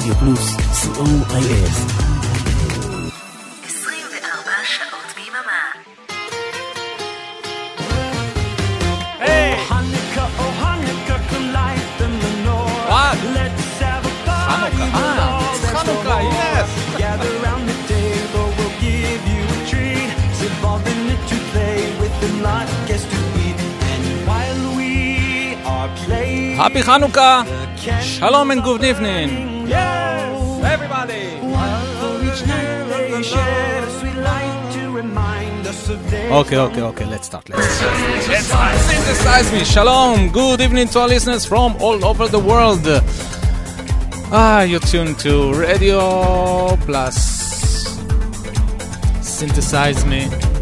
רדיו פלוס, COIL. 24 שעות ביממה. חנוכה, yes! Gather around the table, we'll give you a treat. Sit involved in it to play with the not guess to eat. And while we are playing, Happy Hanukkah! Shalom and good evening! yes, Everybody! for each night they shed a sweet light to remind us of days. Okay, let's start. Let's synthesize me. Shalom, good evening to our listeners from all over the world. You're tuned to Radio Plus. Synthesize me.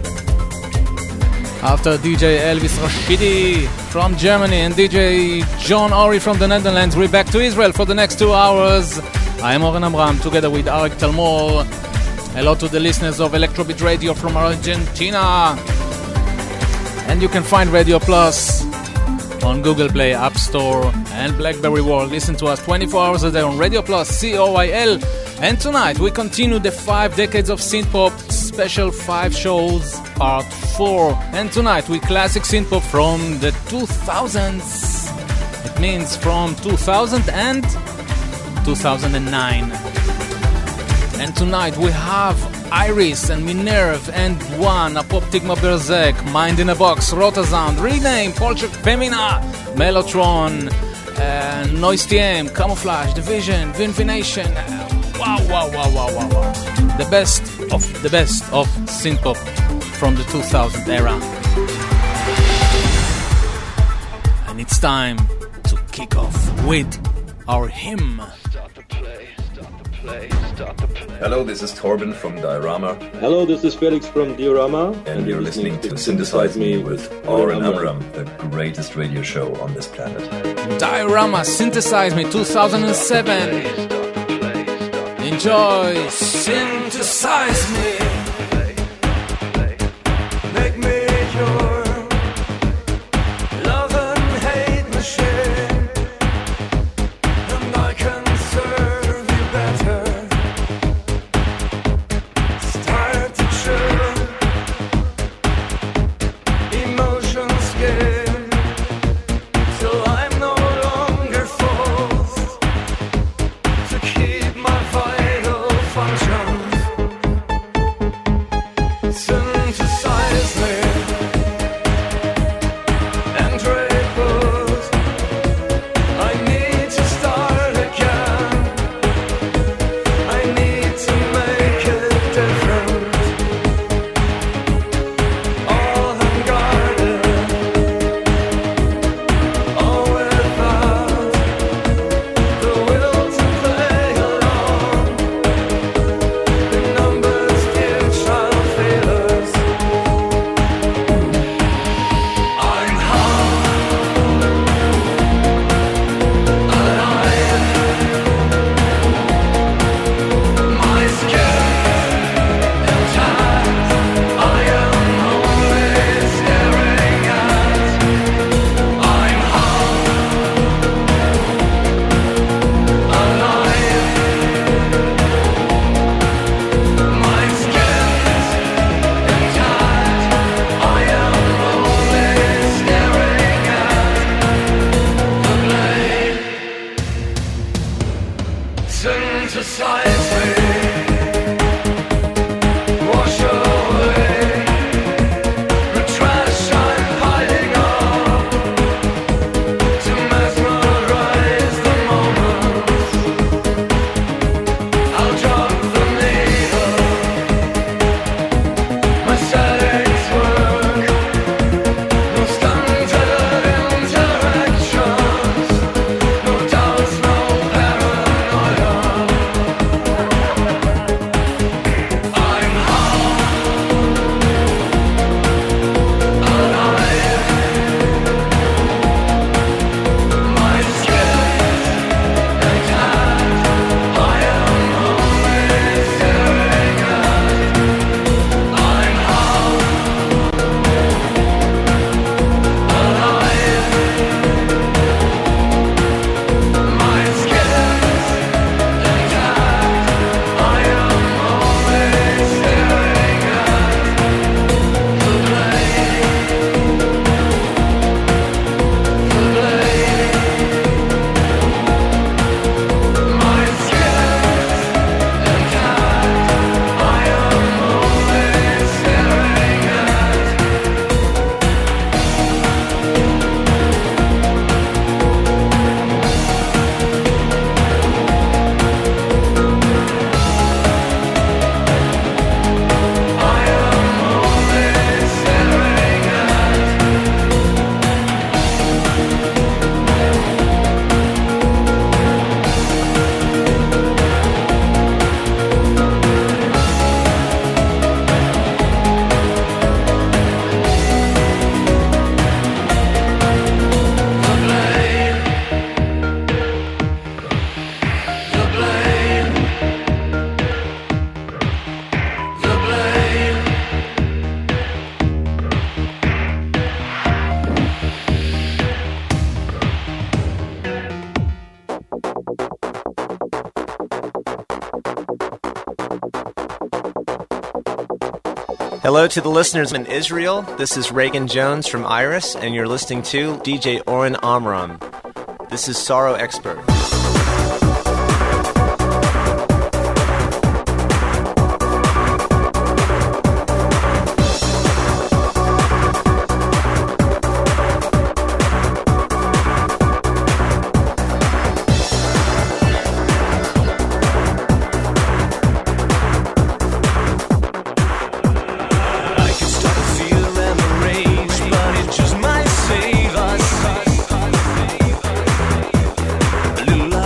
After DJ Elvis Rashidi from Germany and DJ John Ori from the Netherlands, we're back to Israel for the next 2 hours. I am Oren Amram together with Arik Talmor. Hello to the listeners of Electrobit Radio from Argentina. And you can find Radio Plus on Google Play, App Store, and BlackBerry World. Listen to us 24 hours a day on Radio Plus, COIL. And tonight we continue the 5 decades of synthpop, special 5 shows, part 4. And tonight we classic synthpop from the 2000s. It means from 2000 and 2009. And tonight we have Iris and Minerve and One, Apoptigma Berzek, Mind in a Box, Rotasound, Rename, Polchek Femina, Mellotron, Noise TM, Camouflage, Division, Vinfination. Wow. The best of synthpop from the 2000 era. And it's time to kick off with our hymn. Hello, this is Torben from Diorama. Hello, this is Felix from Diorama. And you're listening to Synthesize Me with Oren Amram, the greatest radio show on this planet. Diorama, Synthesize Me 2007. Enjoy Synthesize Me. Make me your love and hate machine, and I can serve you better. Start to chill, emotions skin, till I'm no longer forced to keep my vital functions. Hello to the listeners in Israel. This is Reagan Jones from Iris, and you're listening to DJ Oren Amram. This is Sorrow Expert. Little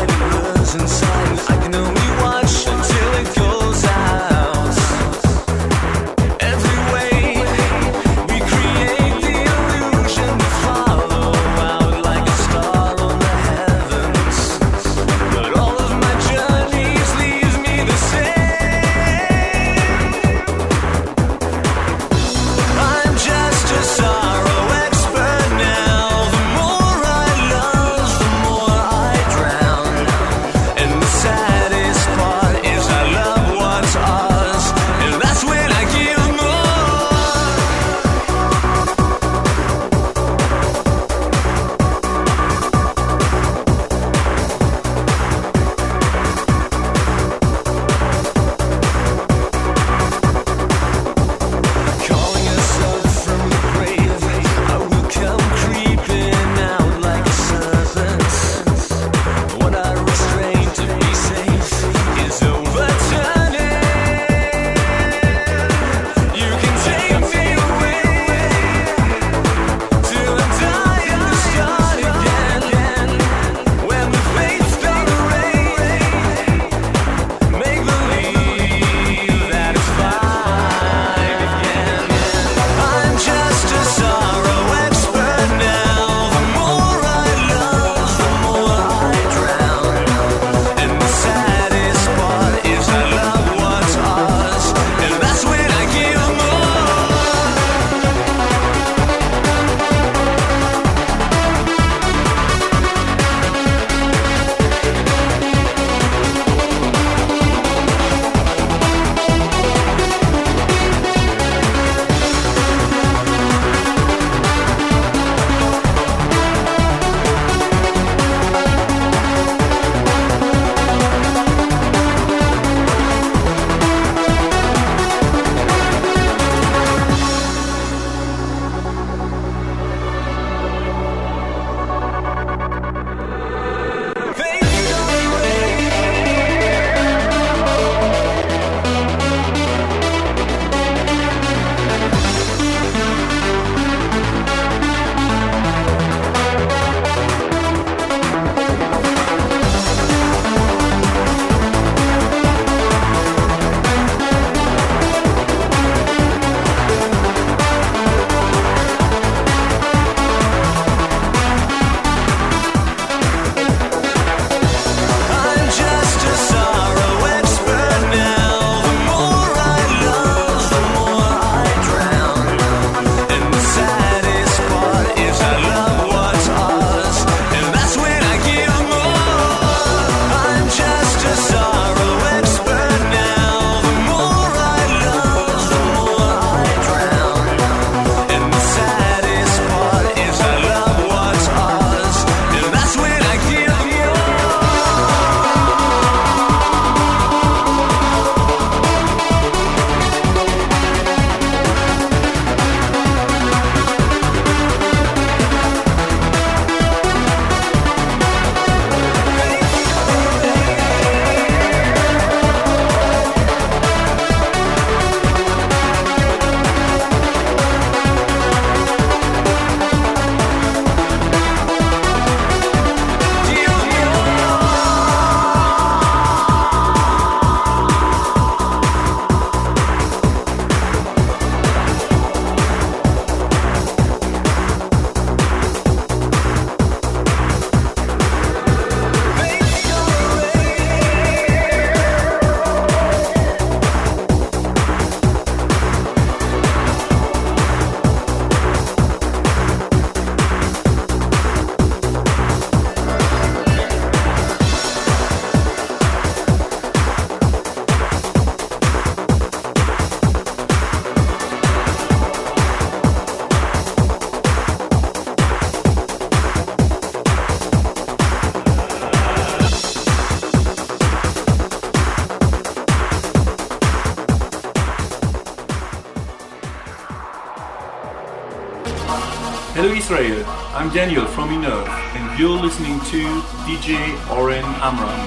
Israel. I'm Daniel from Inner, and you're listening to DJ Oren Amram.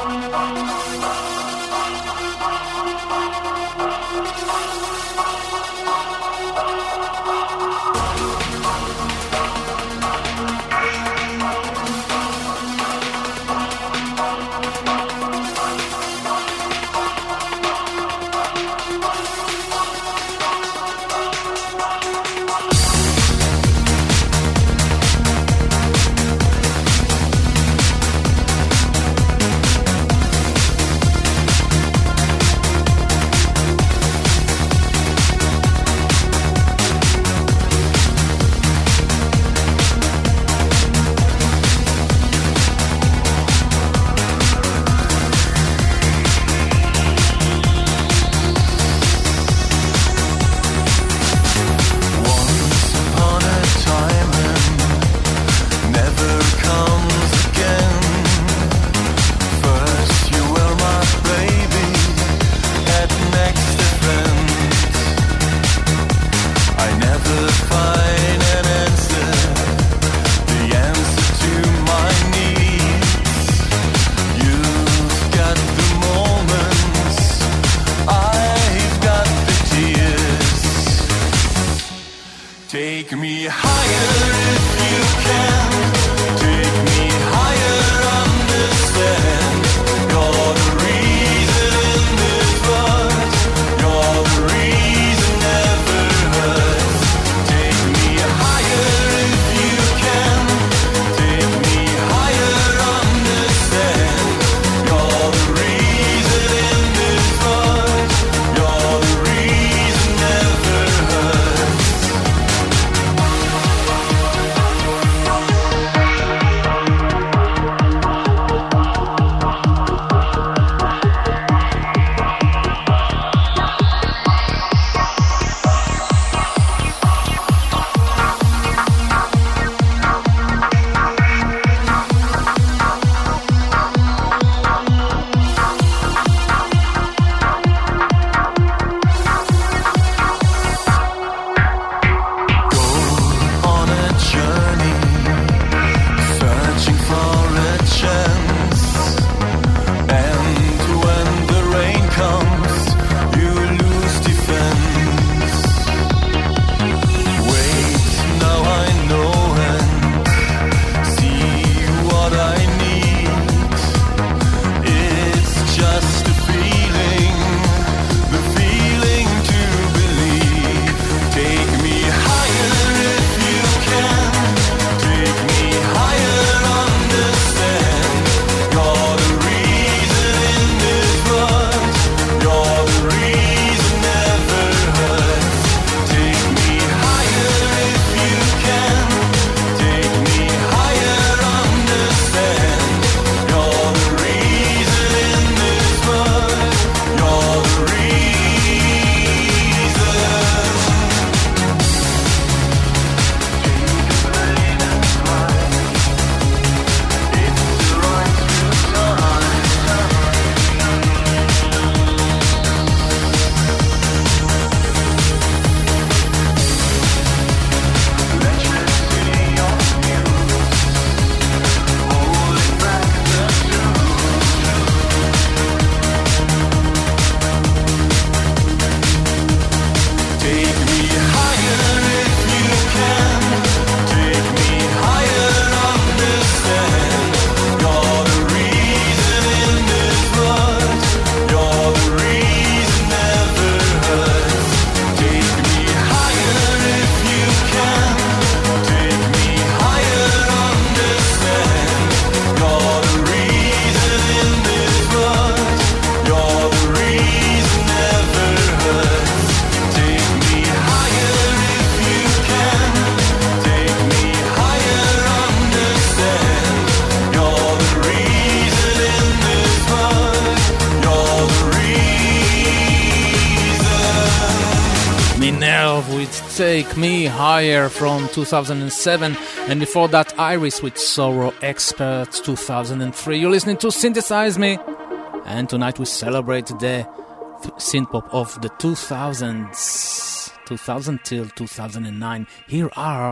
Take Me Higher from 2007, and before that Iris with Sorrow Experts 2003. You're listening to Synthesize Me, and tonight we celebrate the synthpop of the 2000s, 2000 till 2009. Here are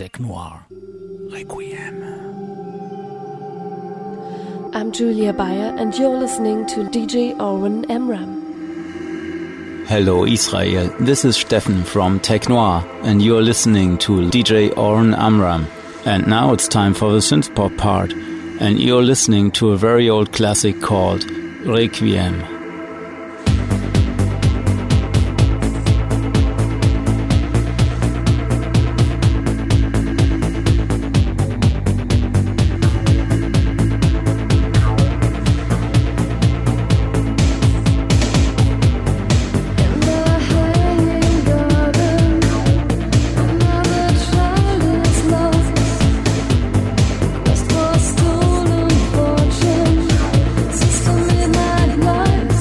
Tech Noir. Requiem. I'm Julia Bayer, and you're listening to DJ Oren Amram. Hello Israel, this is Steffen from Tech Noir, and you're listening to DJ Oren Amram. And now it's time for the synthpop part, and you're listening to a very old classic called Requiem. Stolen fortune, sister midnight lights.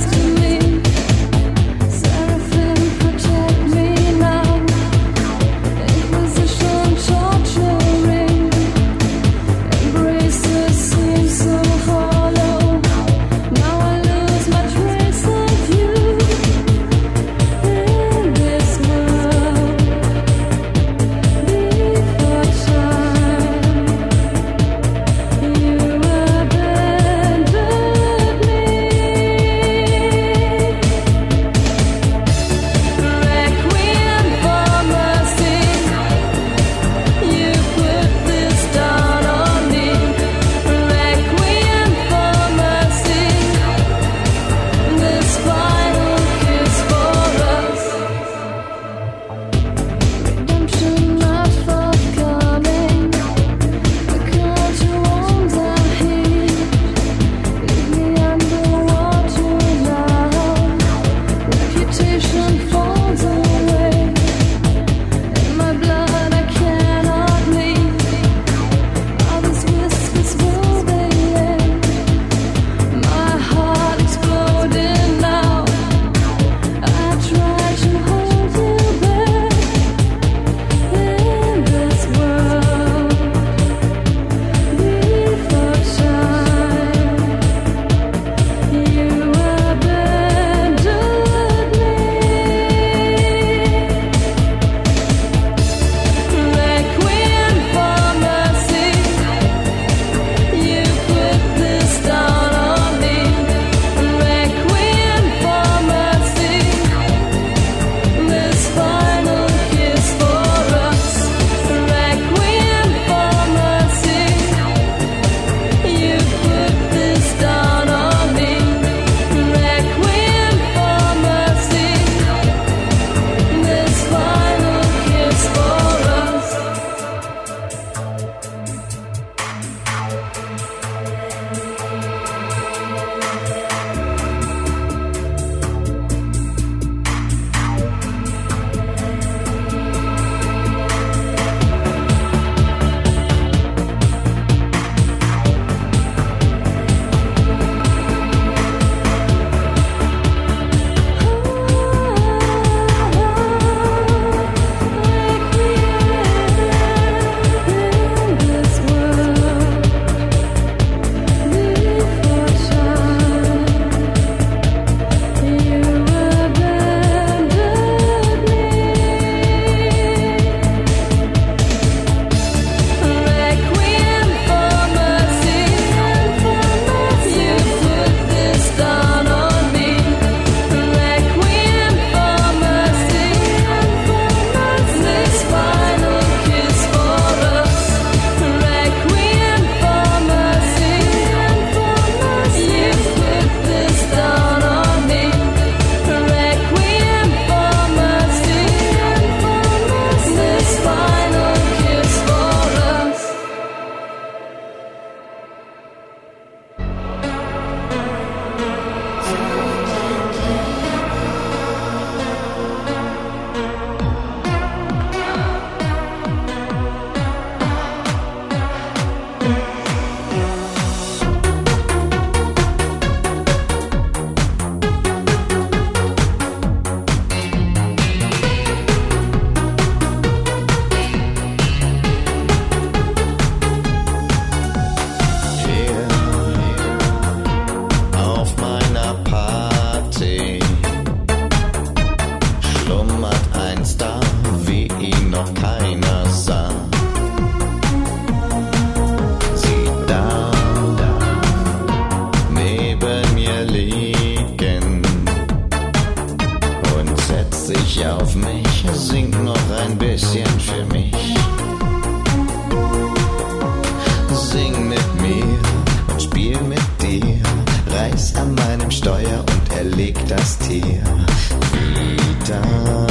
Steuer und er legt das Tier wieder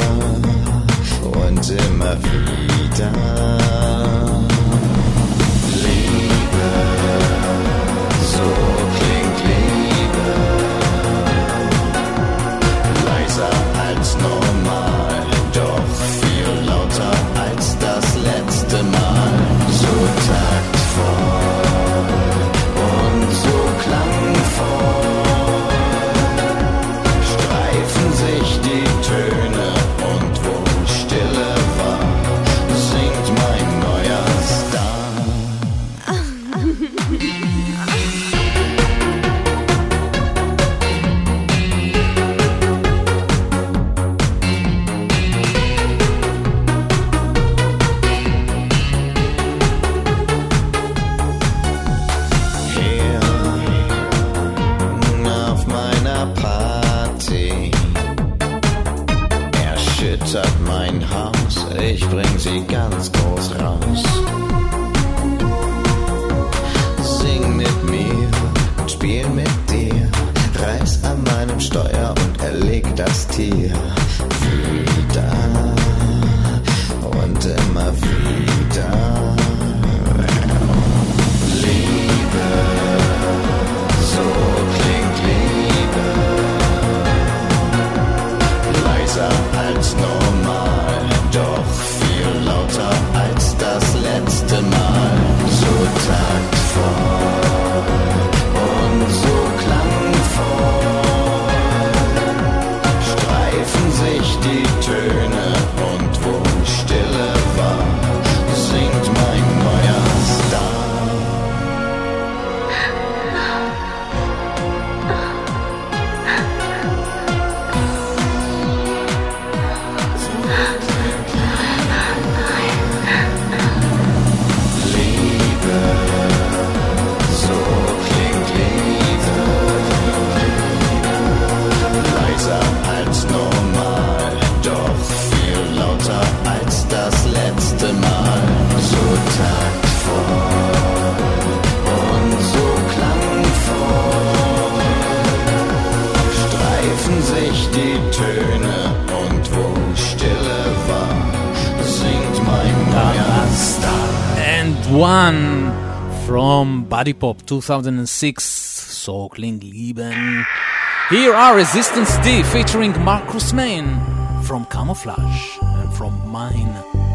und immer wieder. Liebe, so klingt Liebe, leiser als normal, doch viel lauter als das letzte Mal. So taktvoll und so klangvoll streifen sich die Töne und wo Stille war, singt mein neuer Star. Hier auf meiner Party erschüttert mein Haus, ich bring sie ganz groß raus. Sing mit mir und spiel mit dir, reiß an meinem Steuer und erleg das Tier wieder und immer wieder. Liebe, so klingt Liebe, leiser als normal, doch viel lauter als das letzte Mal. So taktvoll und so klangvoll streifen sich die Töne und wo Stille war, singt mein neuer Star. Liebe, so klingt Liebe, leiser als normal, doch viel lauter als das letzte Mal. So taktvoll und so klangvoll streifen sich die Töne und wo Stille war, singt mein neuer Star. And one from Body Pop 2006, So klingt Lieben. Here are Resistance D featuring Marcus Main from Camouflage and from Mine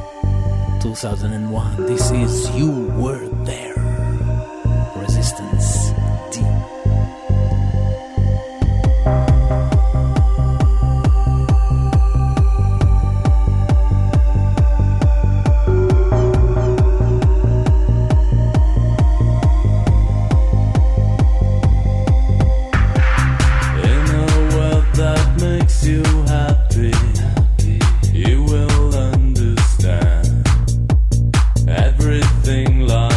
2001. This is You Were There. Resistance D. In a world that makes you happy, you will understand everything like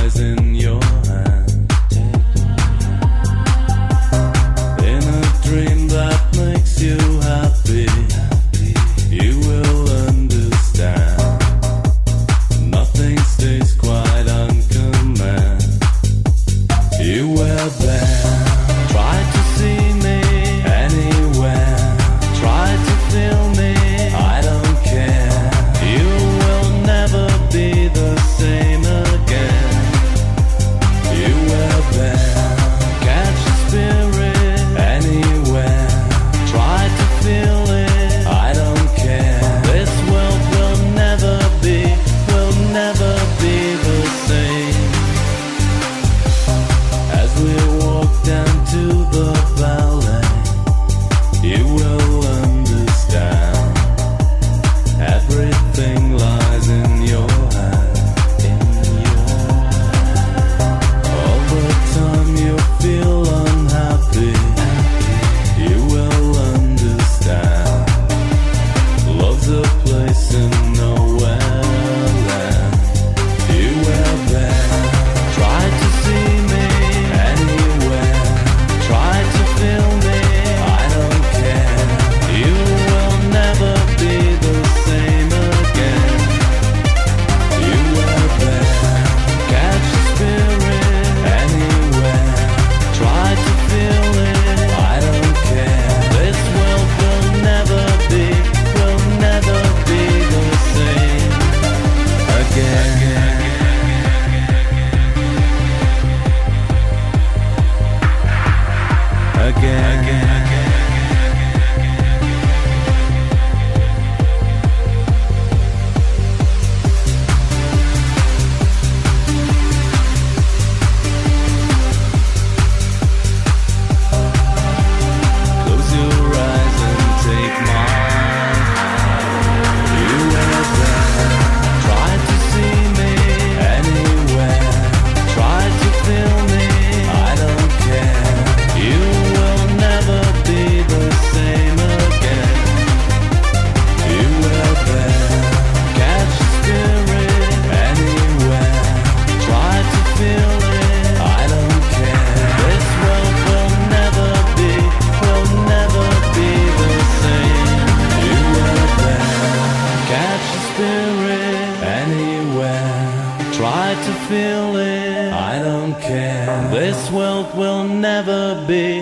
feeling. I don't care. This world will never be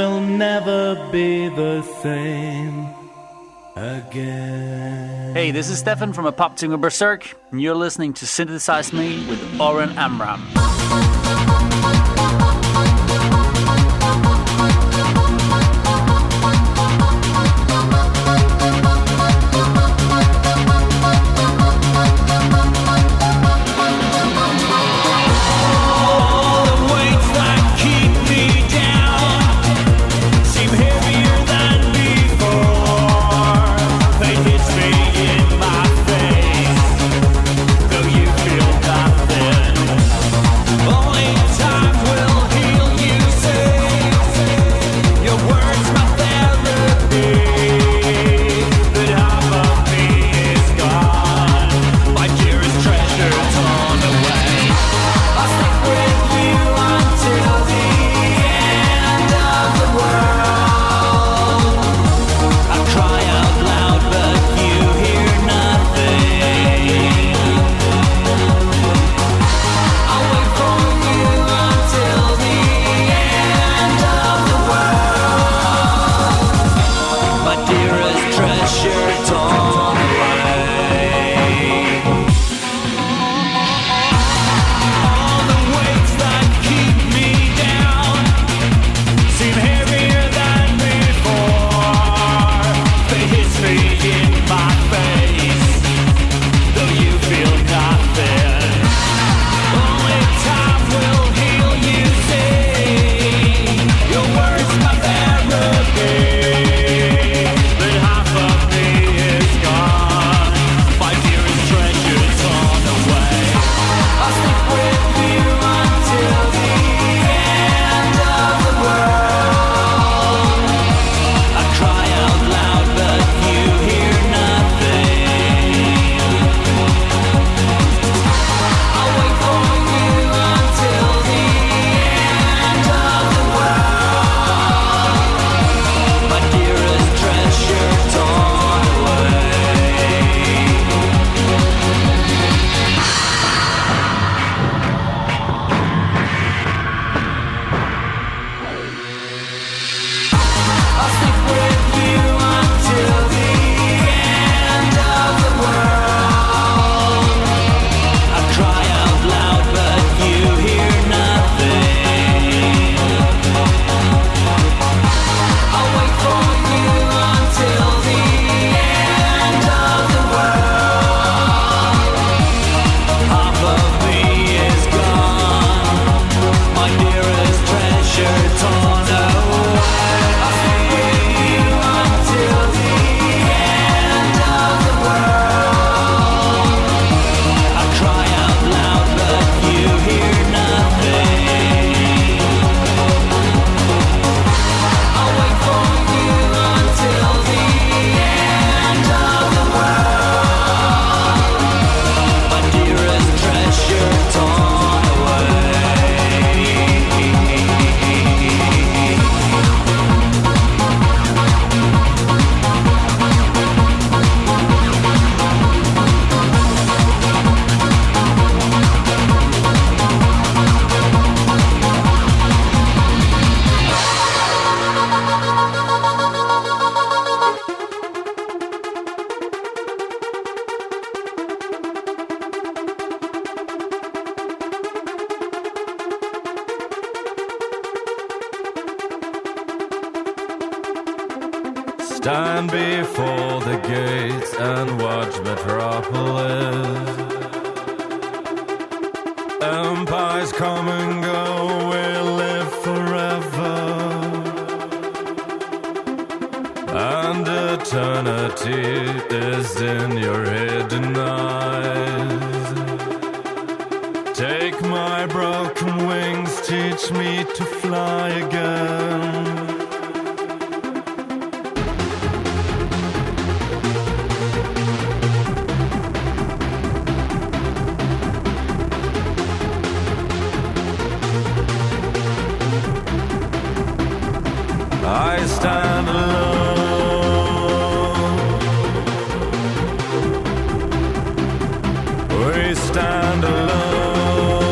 the same again. Hey, this is Stefan from Apoptygma Berserk, and you're listening to Synthesize Me with Oren Amram. Stand before the gates and watch Metropolis. Empires come and go, we live forever, and eternity is in your hidden eyes. Take my broken wings, teach me to fly again. I stand alone. We stand alone.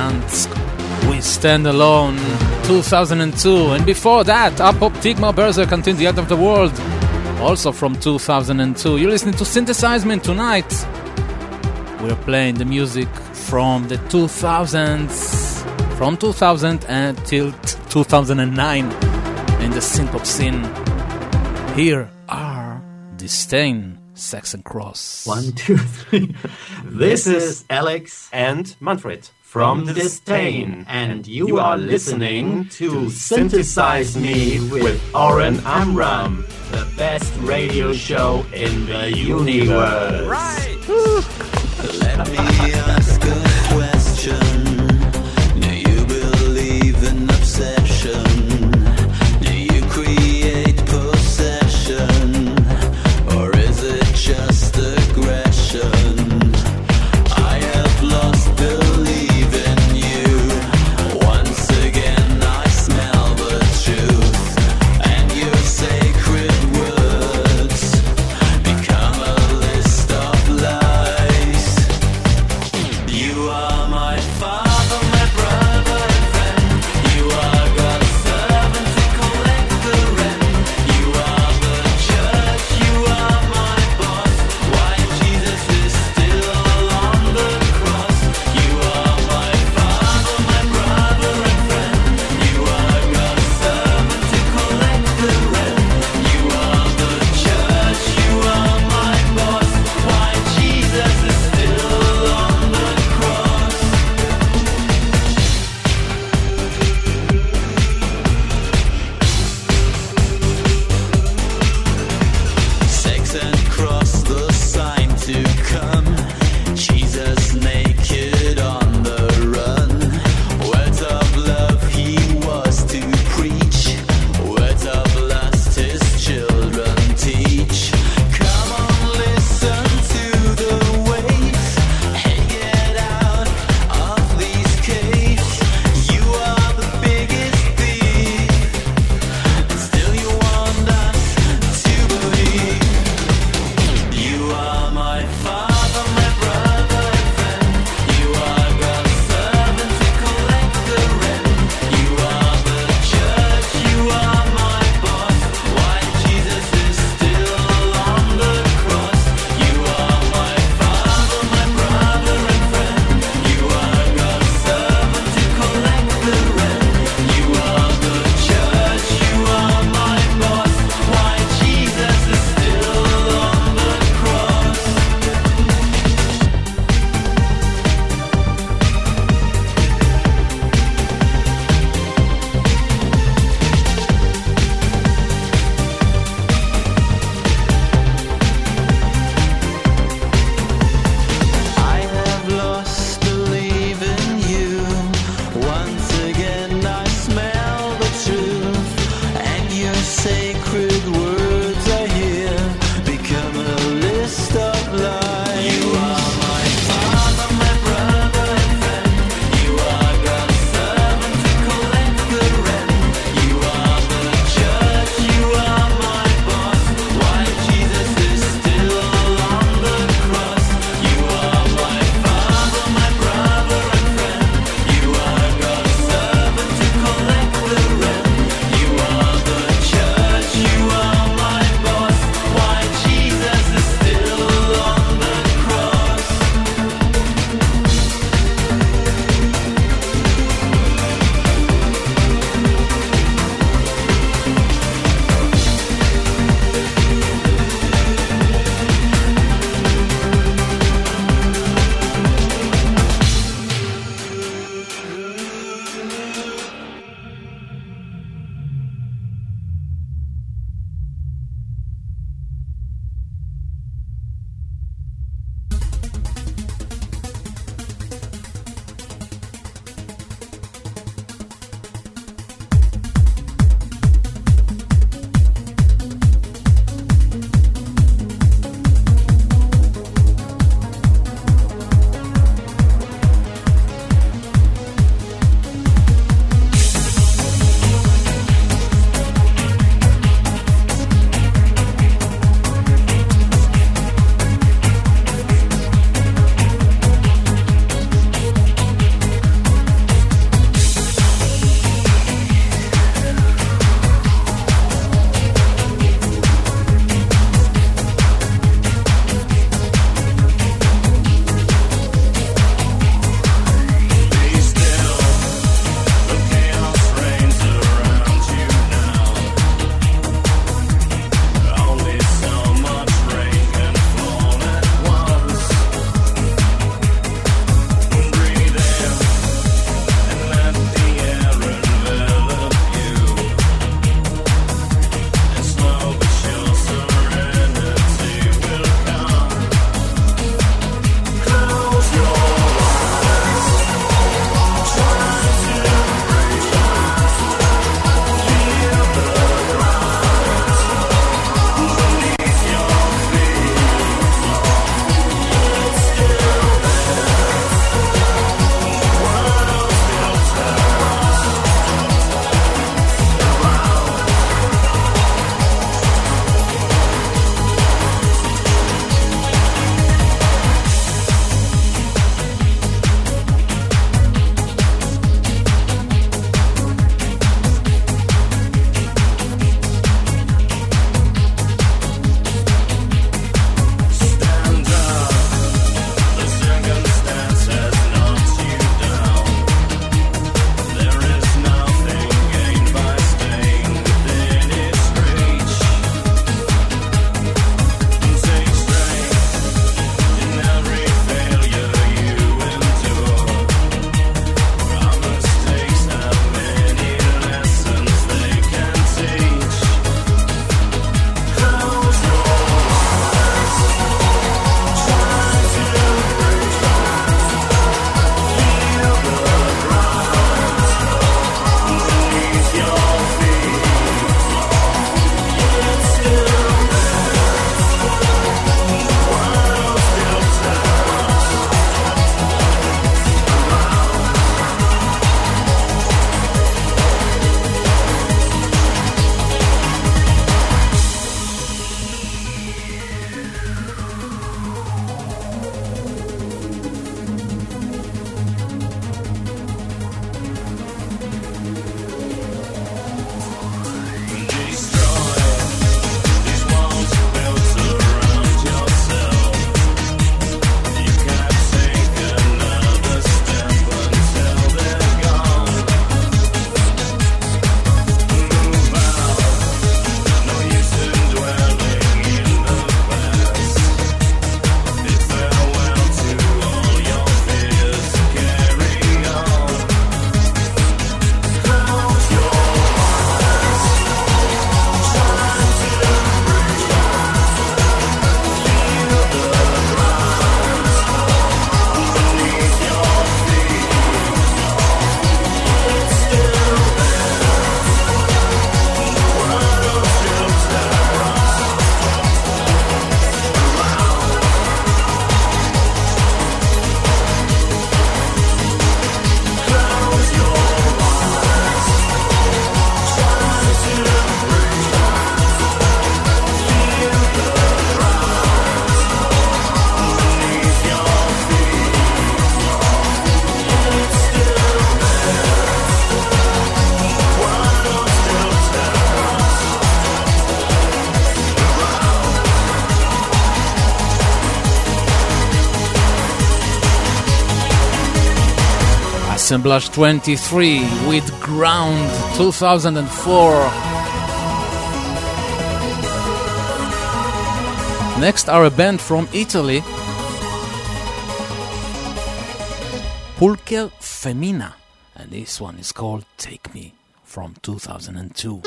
Bryansk, We Stand Alone, 2002. And before that, Up Tigmar Berserk Until the End of the World, also from 2002. You're listening to Synthesize Me tonight. We're playing the music from the 2000s, from 2000 until 2009 in the synth-pop scene. Here are Disdain, Saxon Cross. 1, 2, 3. This is Alex and Manfred from Disdain, and you are listening to Synthesize Me with Oren Amram, the best radio show in the universe. Right! Let me ask a question. Do you believe in obsession? Do you create possession? Or is it just aggression? I have lost belief in you. Once again I smell the truth, and your sacred words become a list of lies. Assemblage 23 with Ground 2004. Next are a band from Italy, Pulcher Femina, and this one is called Take Me from 2002.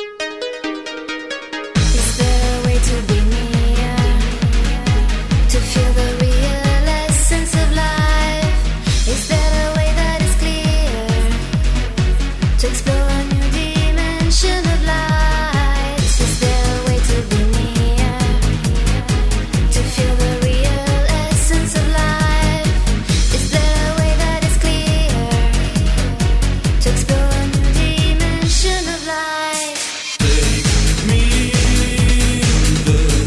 Is there a way to be near, to feel the real essence of life? Is there a way that is clear, to explore a new dimension of light? Is there a way to be near, to feel the real essence of life? Is there a way that is clear, to explore a new dimension of life? Take me the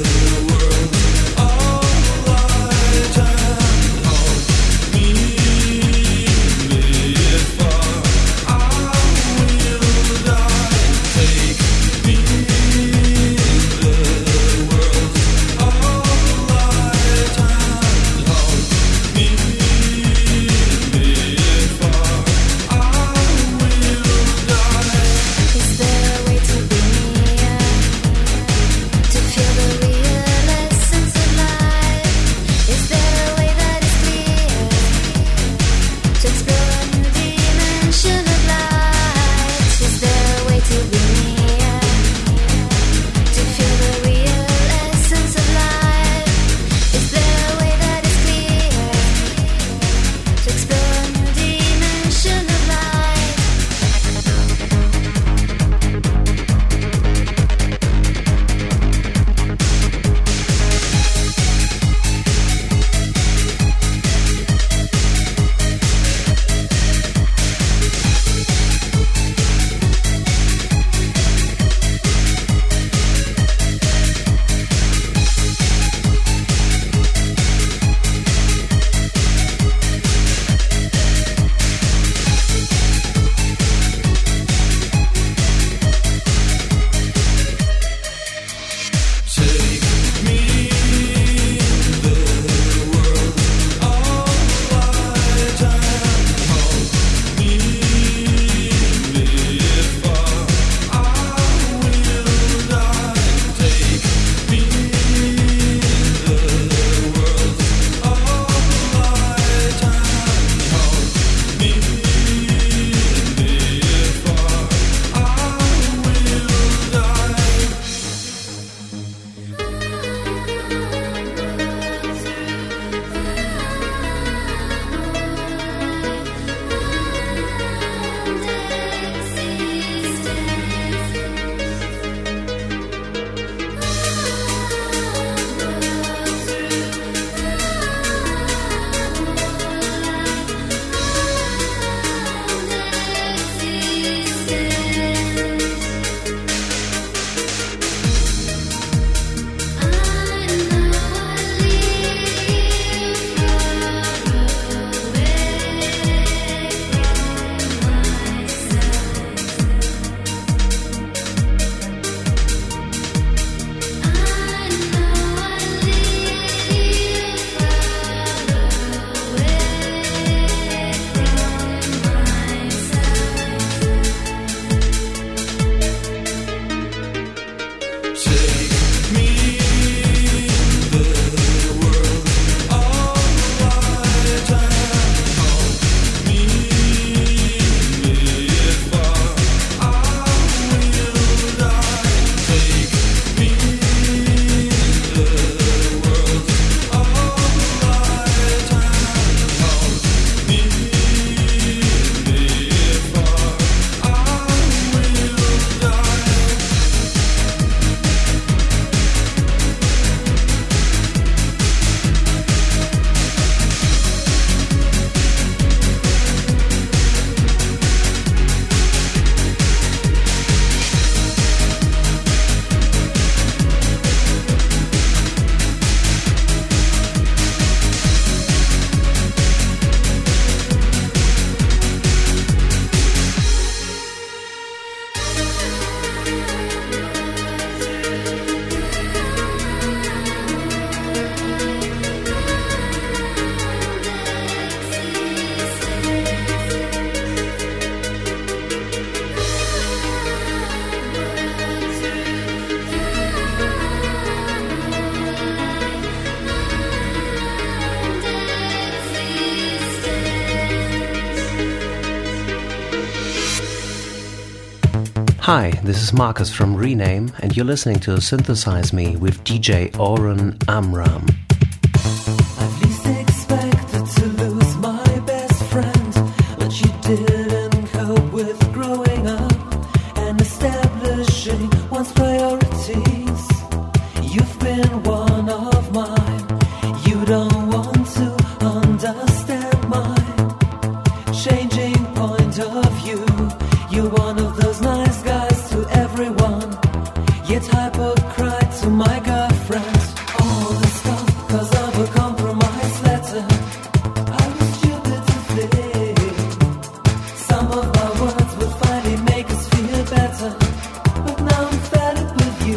Hi, this is Marcus from Rename, and you're listening to Synthesize Me with DJ Oren Amram. I've least expected to lose my best friend, but she didn't cope with growing up and establishing one's priorities. You've been one of mine. You don't want to understand my changing point of view. You're one of those nice guys to everyone, yet hypocrite to my girlfriend. All this stuff cause of a compromise letter. I was stupid to think some of my words would finally make us feel better, but now I'm fed up with you.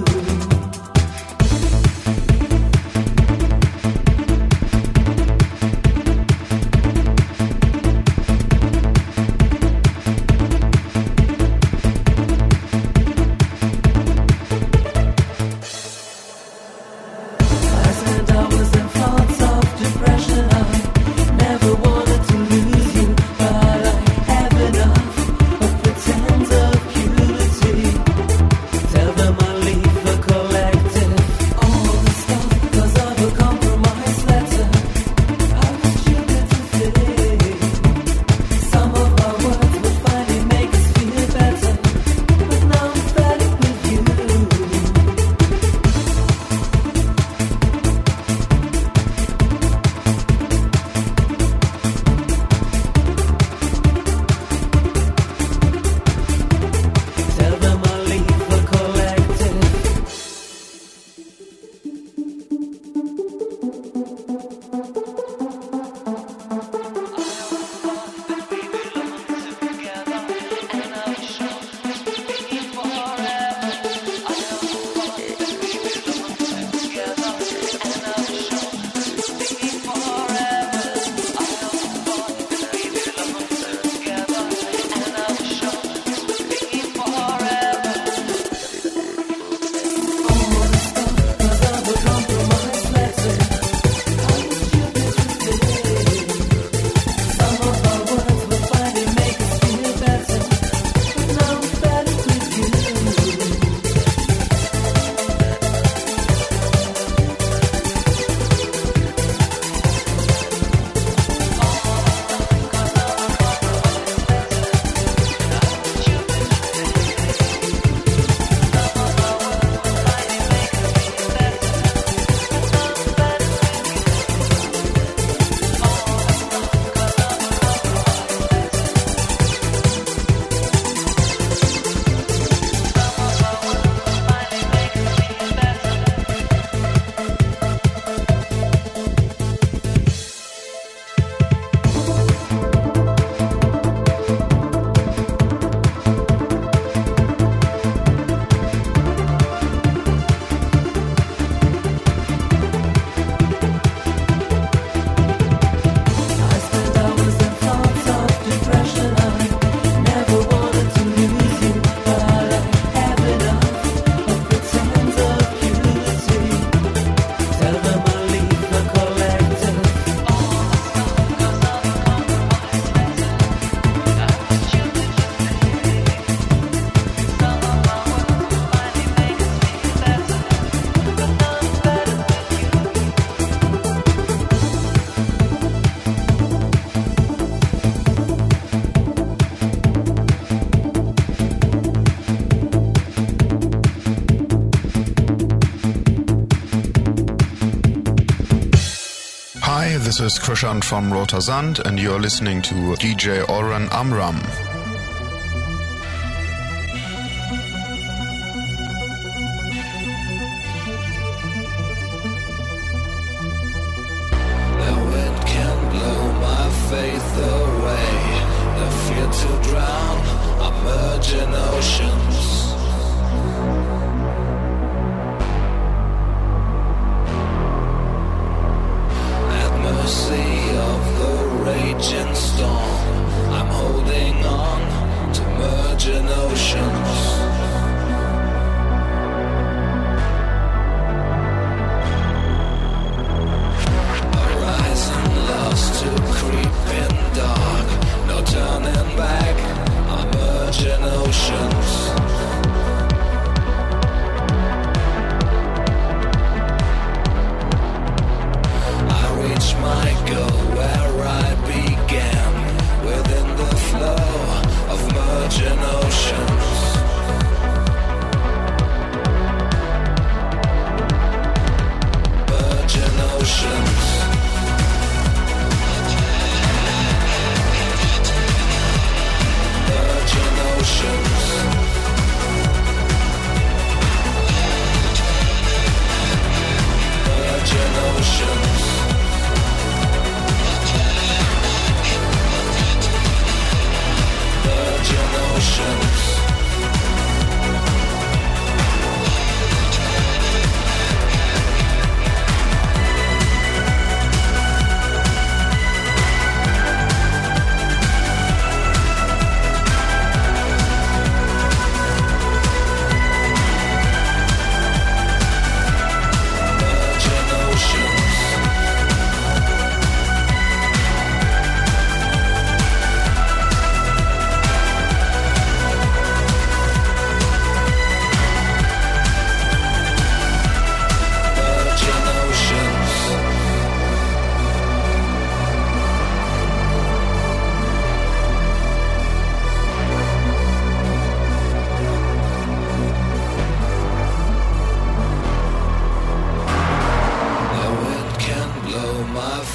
This is Krishan from Roter Sand, and you're listening to DJ Oren Amram. The wind can blow my faith away. The fear to drown, I merge in oceans. Of the raging storm, I'm holding on to merging oceans. Horizon lost to creep in dark, no turning back, I'm merging oceans.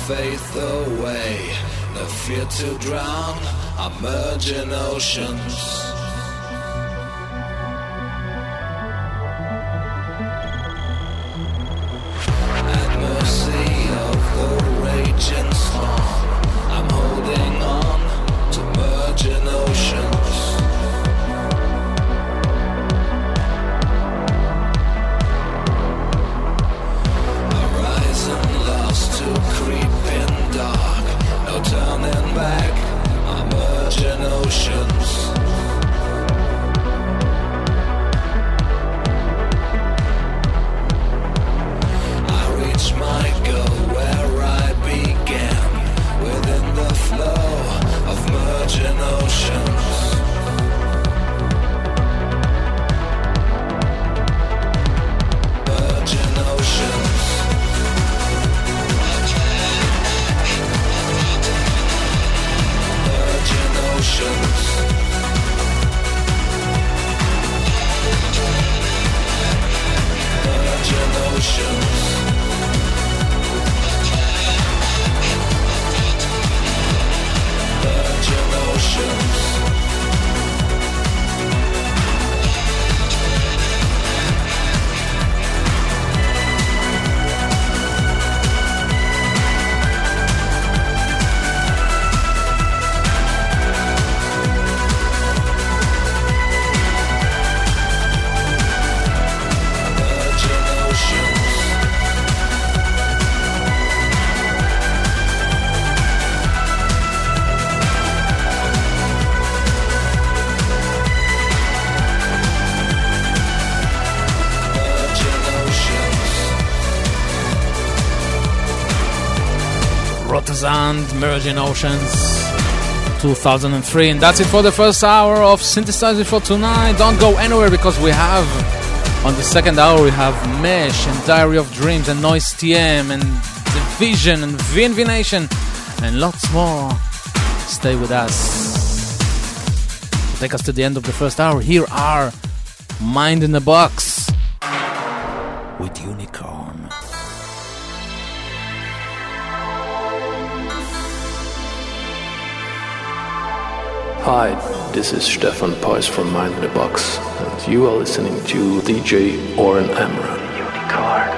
faith away. No fear to drown, I merge in oceans. At mercy of the raging storm, I'm holding on to merge in oceans. Horizon lost to creeping dark, no turning back, I merge in oceans. I reach my goal where I began, within the flow of merging oceans. Merging oceans. Merging oceans. Merging oceans. Virgin oceans. Virgin oceans. Virgin oceans. Rotterdam, Merging Oceans, 2003. And that's it for the first hour of Synthesize It for tonight. Don't go anywhere because we have, on the second hour, we have Mesh and Diary of Dreams and Noise TM and Division and VNV Nation and lots more. Stay with us. To take us to the end of the first hour, here are Mind in the Box with Unicorn. Hi, this is Stefan Peuss from Mind in the Box, and you are listening to DJ Oren Amram. Unicorn.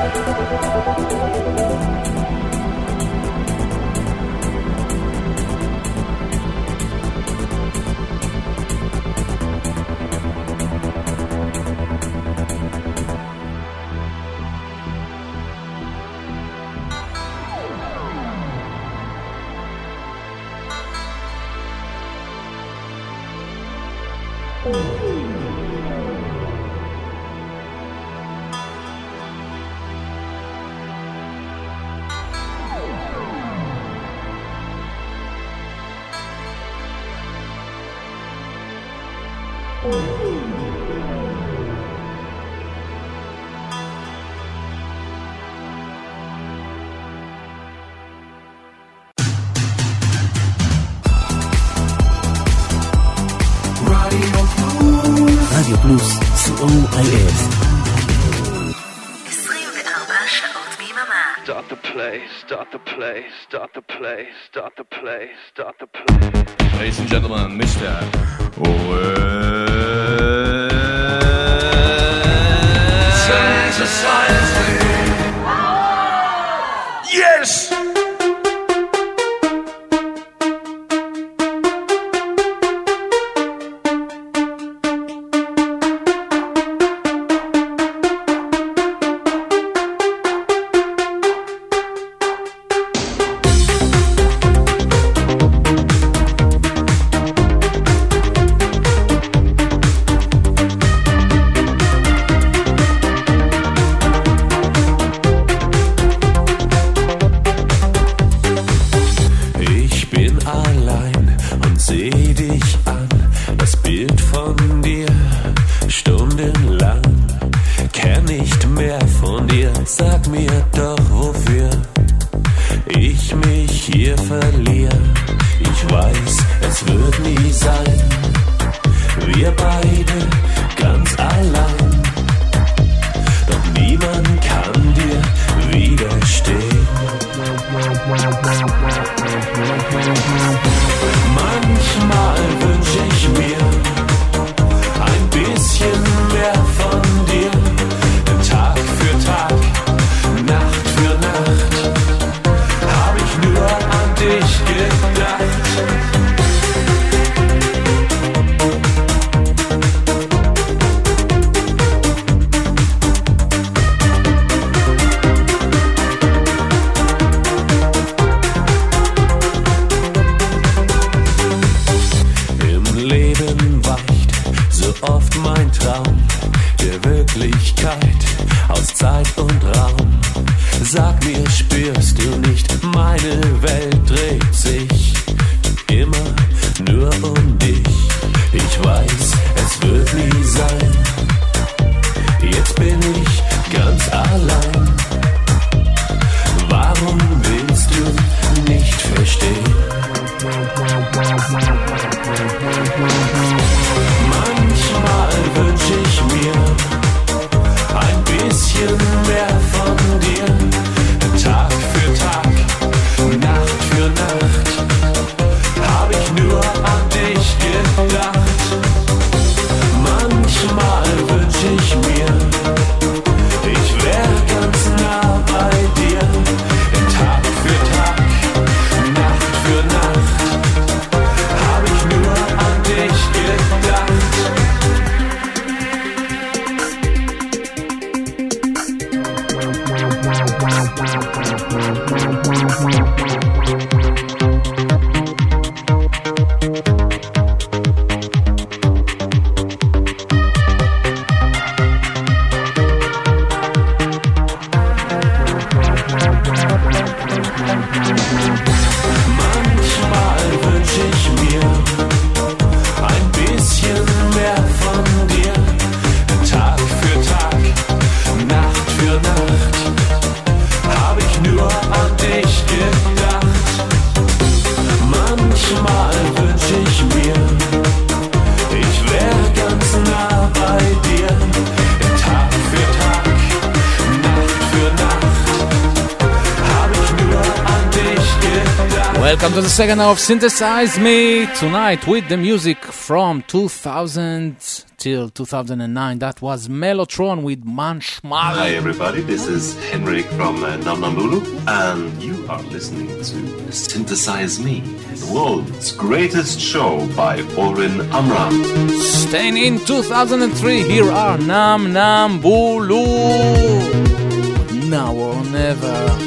רדיו פלוס, COIS. 24 שעות ביממה. Start the play, start the play, start the play, start the play, start the play. Ladies and gentlemen, Mr. Synthesize me. Yes! Welcome to the second hour of Synthesize Me, tonight with the music from 2000 till 2009. That was Mellotron with Manchmal. Hi everybody, this is Henrik from Namnambulu, and you are listening to Synthesize Me, the world's greatest show by Oren Amram. Staying in 2003, here are Namnambulu. Now or never.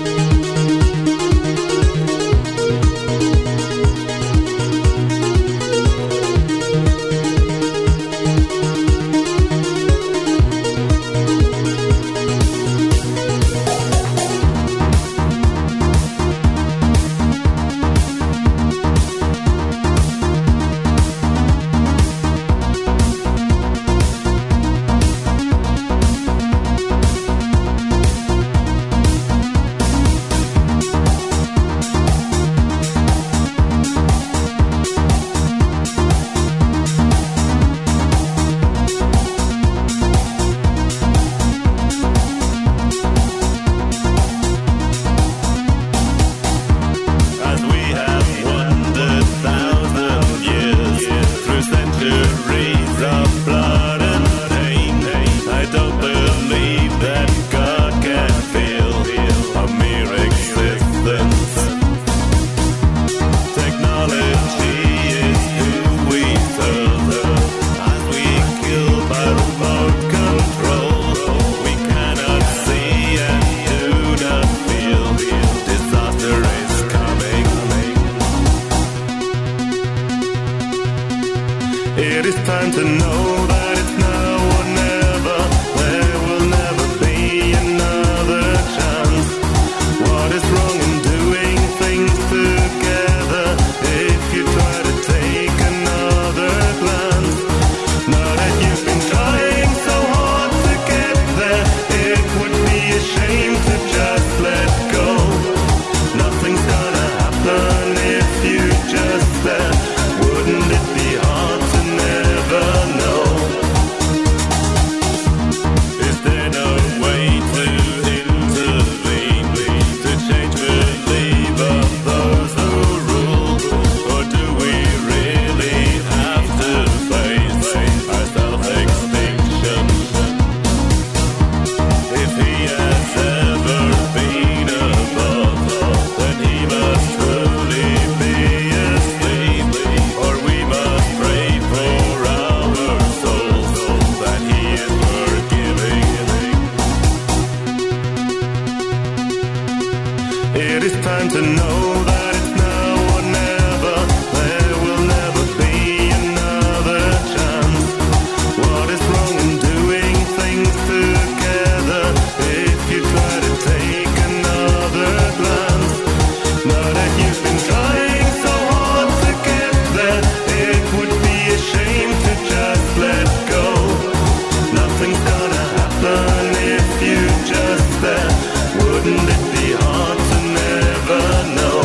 Wouldn't it be hard to never know?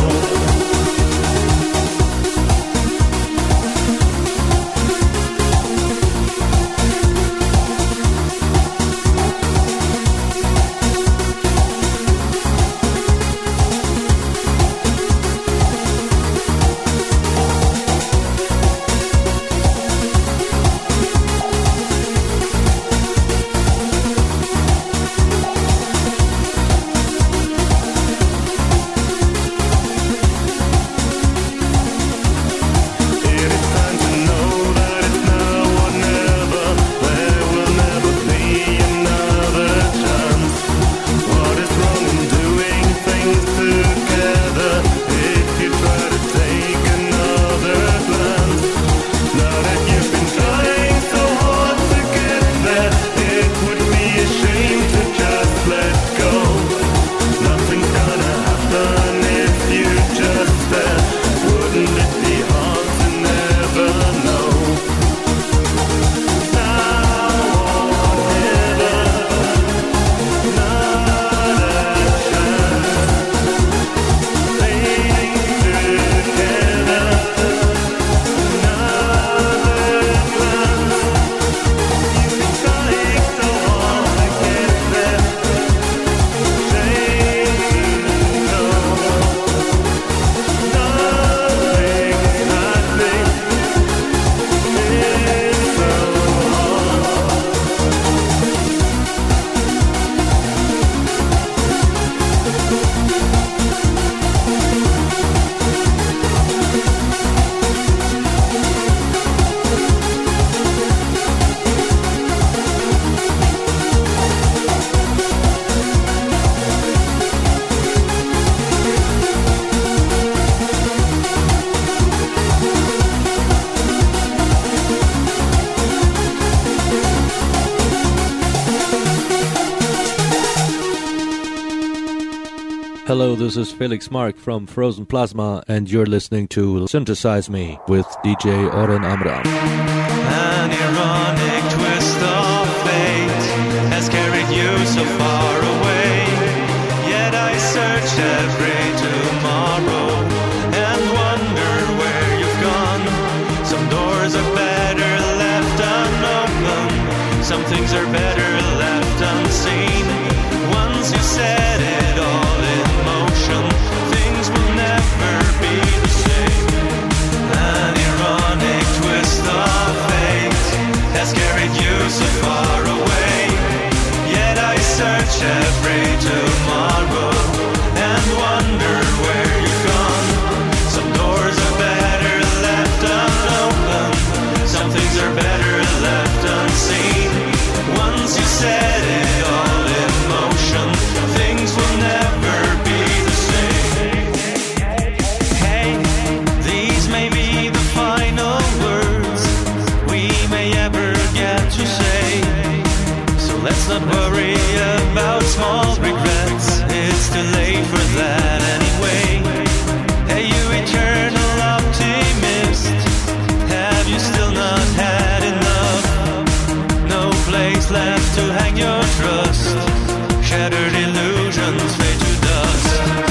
Hello, this is Felix Mark from Frozen Plasma, and you're listening to Synthesize Me with DJ Oren Amram. An ironic twist of fate has carried you so far away, yet I search every tomorrow and wonder where you've gone. Some doors are better left unopened, some things are better left unseen. Once you set it all in motion, things will never be the same. An ironic twist of fate has carried you so far away, yet I search every tomorrow and wonder where you've gone. Some doors are better left unopened, some things are better left unseen. Once you set it all in motion, things will never be the same. Hey, these may be the final words we may ever get to say, so let's not worry about small regrets, it's too late for that anyway. Hey, you eternal optimist, have you still not had enough? No place left to hang your trust, shattered illusions fade to dust.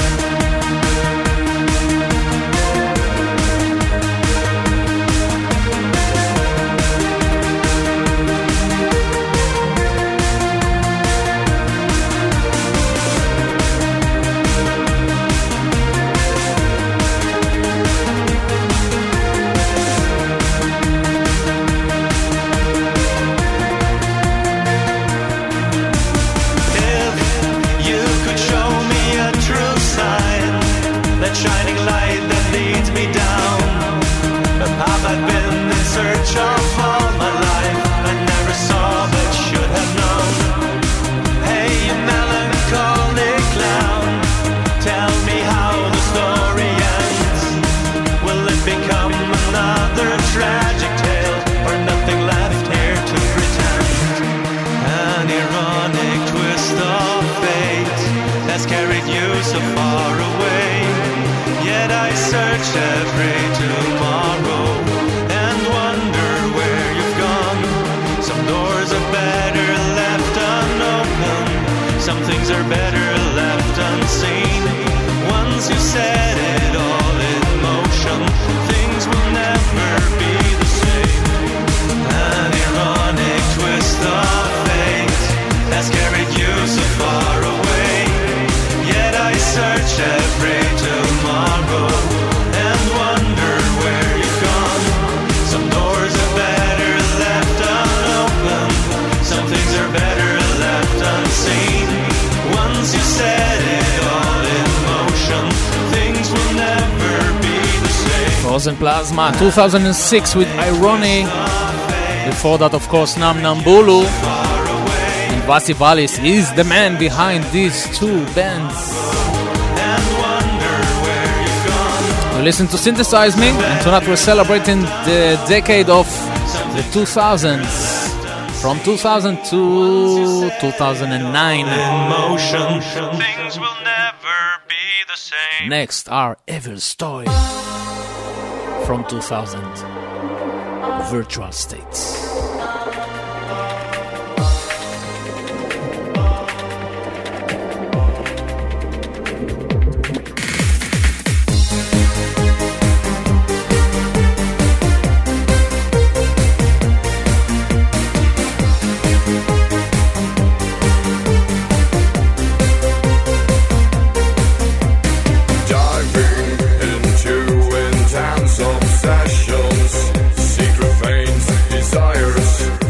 Shining light that leads me down a path I've been in search of all my life, I never saw but should have known. Hey, you melancholic clown, tell me how the story ends. Will it become another tragic tale, or nothing left here to pretend? An ironic twist of fate has carried you so far away, yet I search every tomorrow and wonder where you've gone. Some doors are better left unopened, some things are better left unseen. Once you set it all in motion, things will never be the same. An ironic twist of fate has carried you so far away, yet I search every tomorrow and wonder where you've gone. Some doors are better left unopened, some things are better left unseen. Once you set it all in motion, things will never be the same. Frozen Plasma 2006 with Irony. Before that, of course, Nam Nambulu and Vasi Valis is the man behind these two bands. You listen to Synthesize Me, and tonight we're celebrating the decade of the 2000s, from 2000 to 2009. Things will never be the same. Next are Evil Story from 2000, Virtual States. Obsessions, secret veins, desires.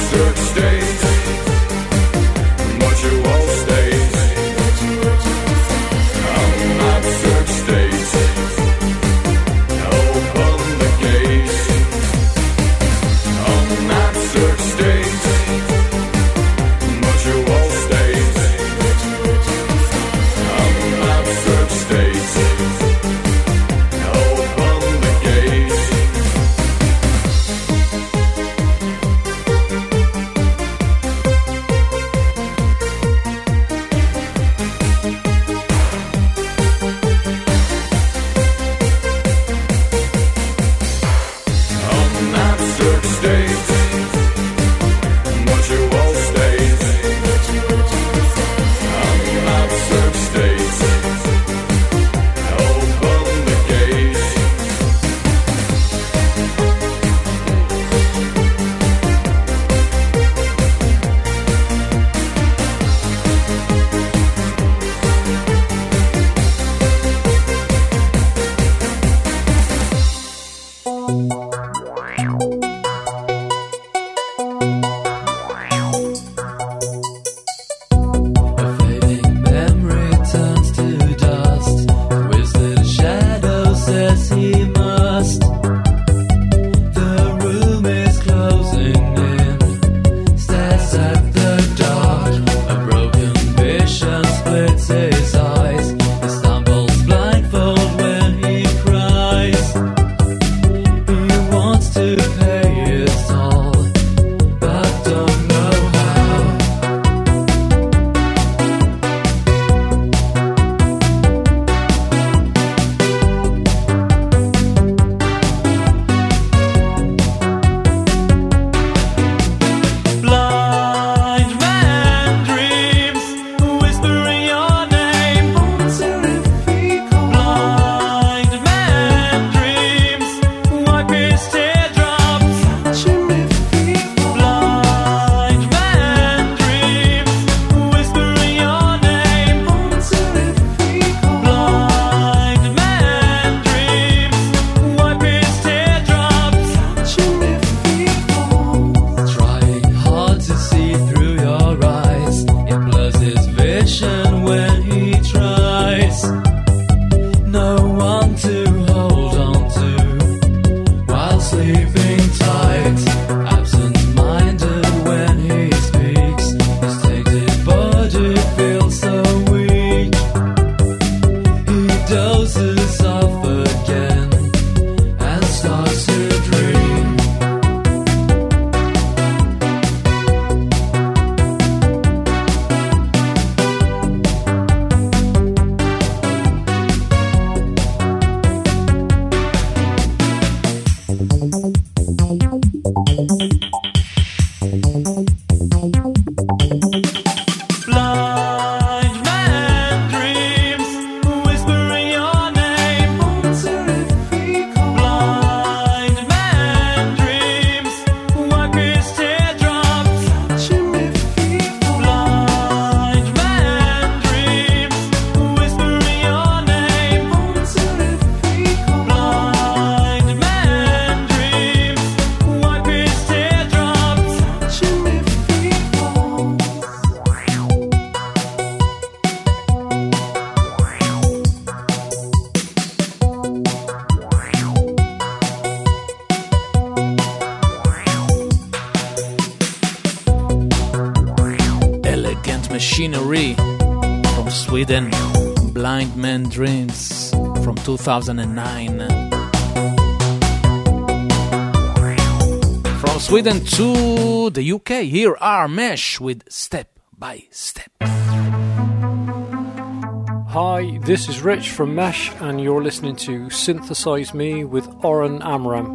search stays, but you all stays. On that search stays, open the gates. On that search stays, but you all stays. On that search stays, open the gates. Machinery from Sweden, Blind Man Dreams from 2009. From Sweden to the UK, here are Mesh with Step by Step. Hi, this is Rich from Mesh, and you're listening to Synthesize Me with Oren Amram.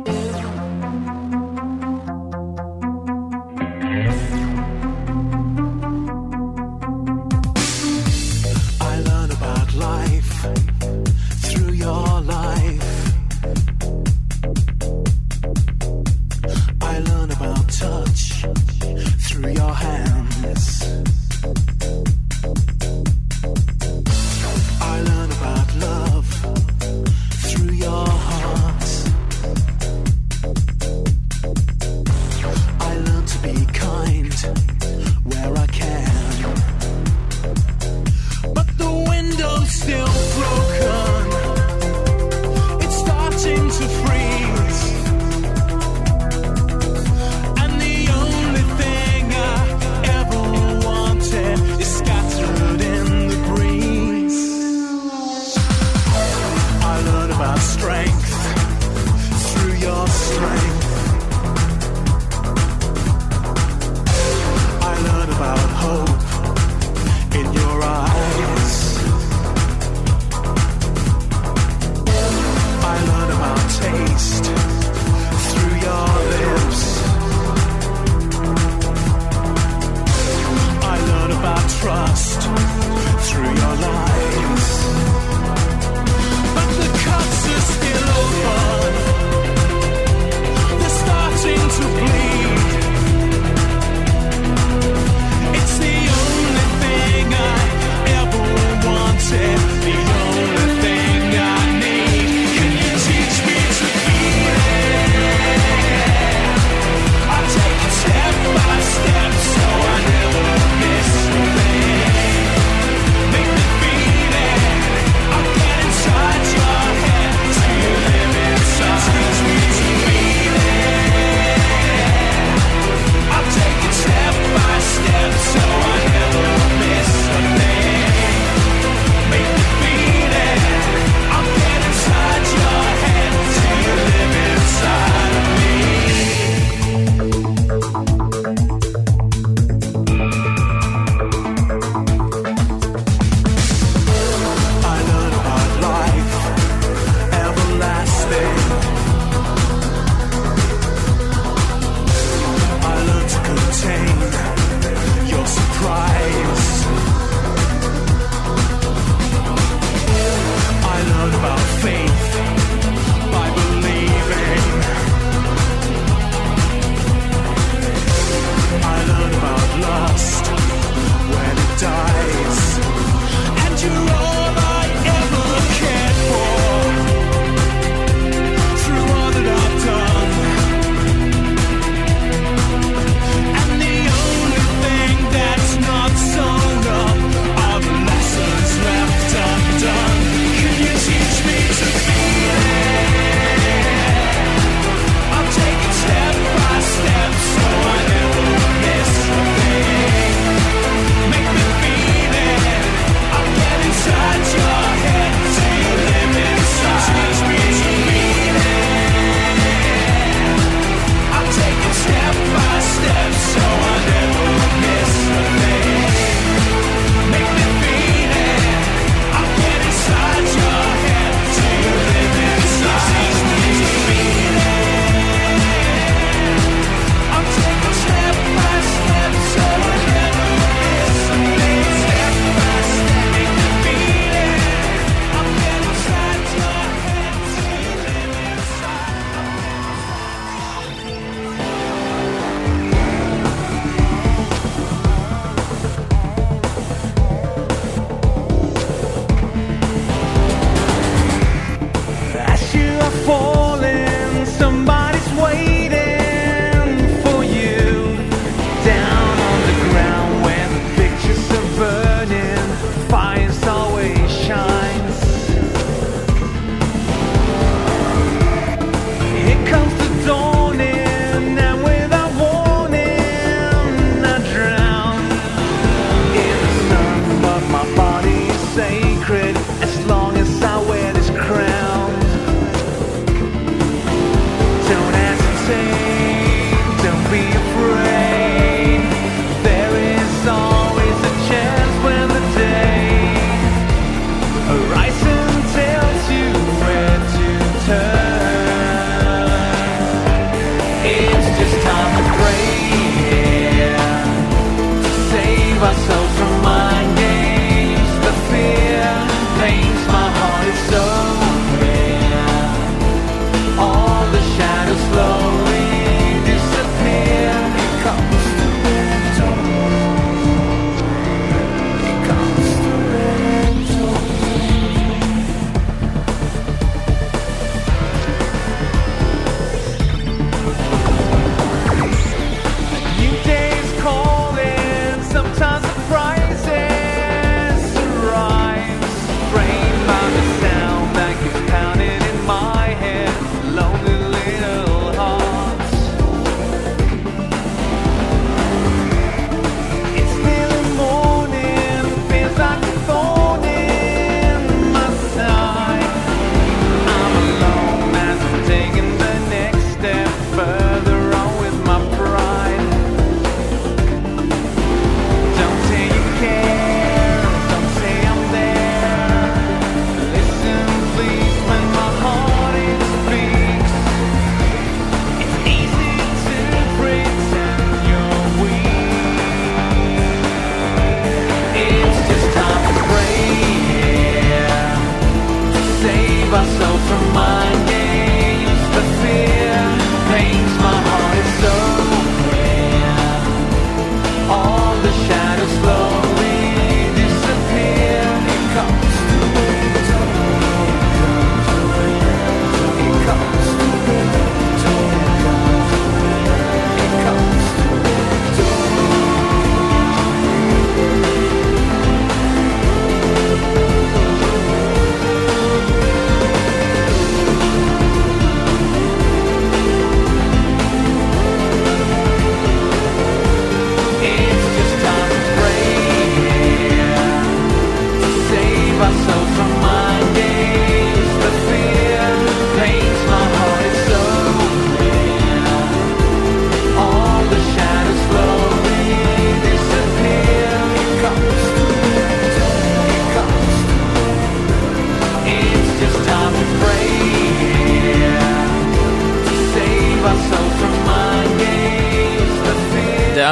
Love through your heart.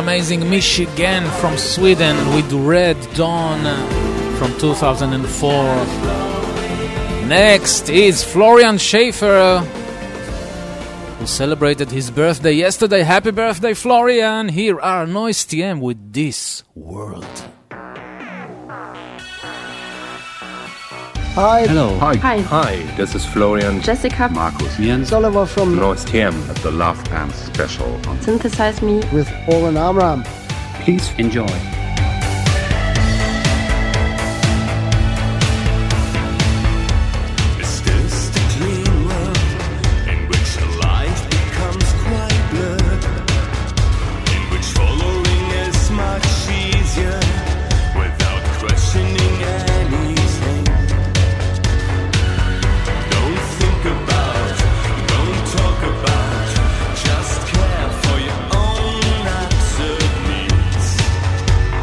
amazing Michigan from Sweden with Red Dawn from 2004. Next is Florian Schaefer, who celebrated his birthday yesterday. Happy birthday, Florian! Here are Noise TM with This World. Hi. Hello. Hi. Hi. This is Florian. Jessica. Markus. Jens. Oliver from Noise TM at the Love Pants special on Synthesize Me with Oren Amram. Please enjoy. Just care for your own absurd needs.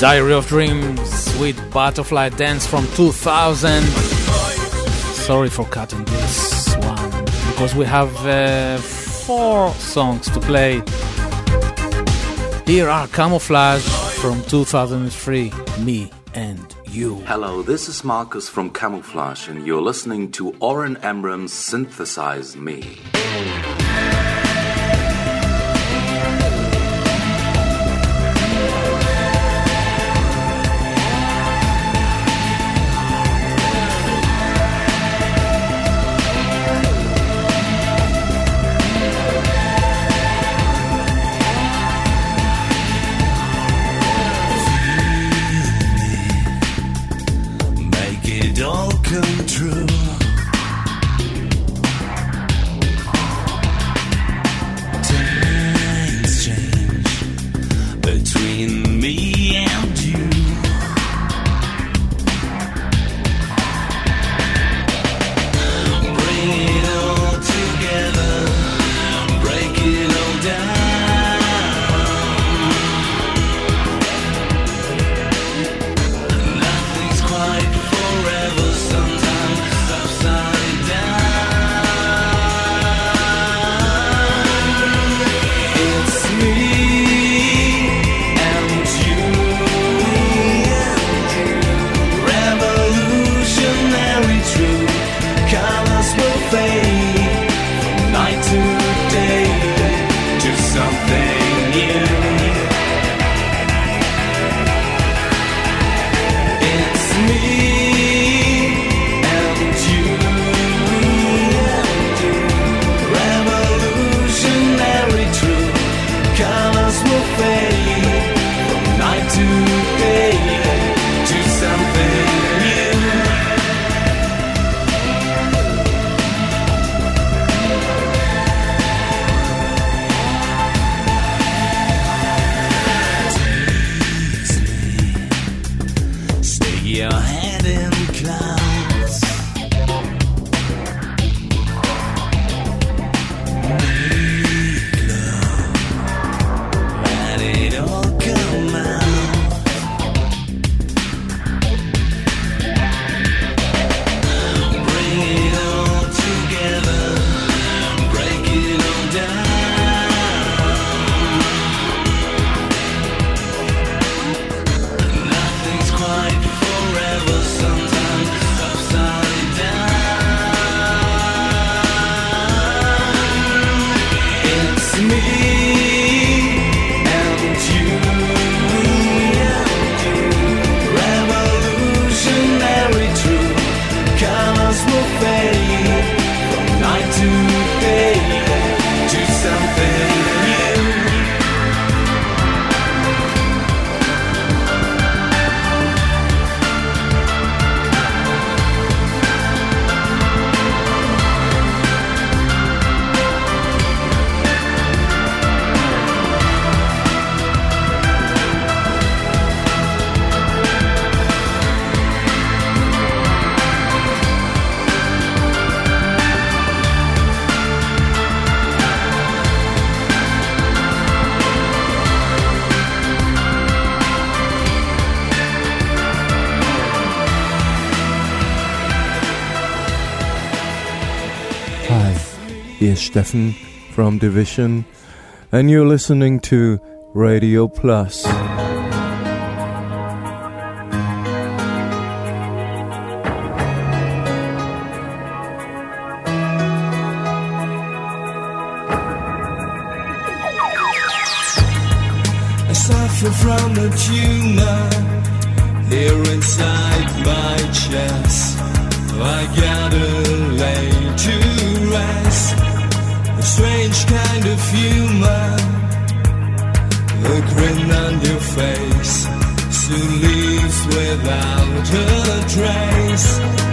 Diary of Dreams with Butterfly Dance from 2000. Sorry for cutting this one, because we have 4 songs to play. Here are Camouflage from 2003, Me and You. Hello, this is Marcus from Camouflage, and you're listening to Oren Amram's Synthesize Me. Come true. Times change between me and you. Bring it all together, break it all down. Nothing's quite forever. Upside Here's Steffen from Division, and you're listening to Radio Plus. I suffer from a tumor here inside my chest. I gotta lay to rest. A strange kind of humor, the grin on your face soon leaves without a trace.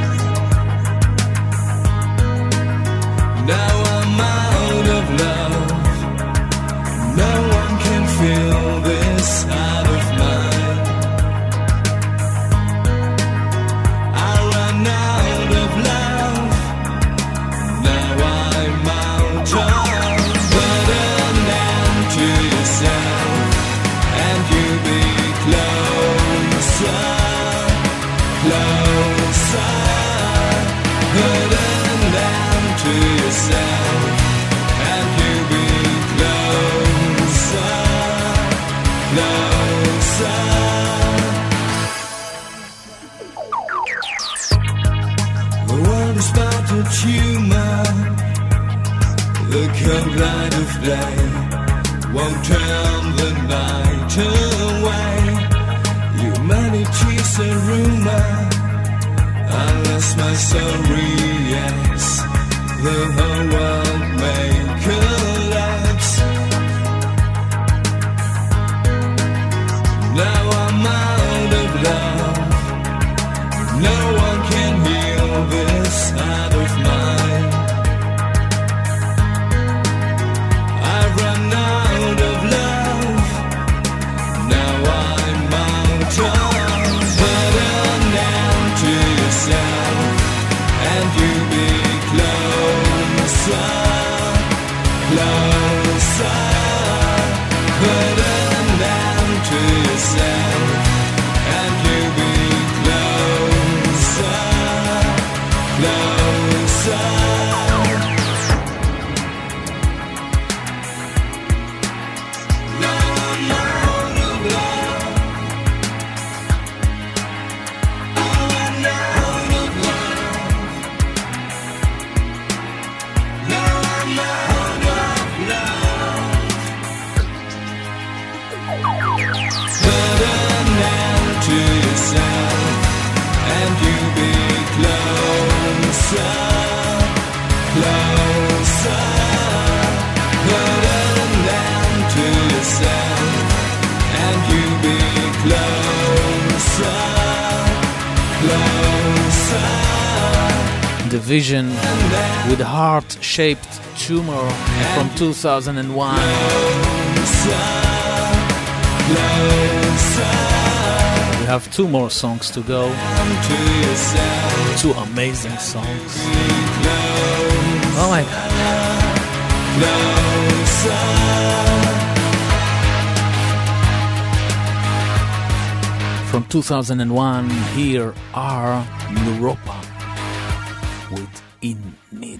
Now I'm out of love. No one can feel this out of mine. I ran out of love. Now I'm out of. Put an end to yourself, and you be close. Tumor, the cold light of day won't turn the night away. Humanity's a rumor, unless my soul reacts, the whole world may collapse. Now I'm out of love, no one can heal this heart of mine. I've run out of love, now I'm out of. Put an end to yourself, and you be closer, closer. Put an end to yourself, and you be closer, closer. Now I'm out of love. I'm out of love. Now I'm out of love. Put an end to yourself, and you be closer, closer. Put an end to yourself, and you be closer, closer. Division with Heart-Shaped Tumor from 2001. We have two more songs to go. Two amazing songs. Oh my god. From 2001, here are Europa with In Need.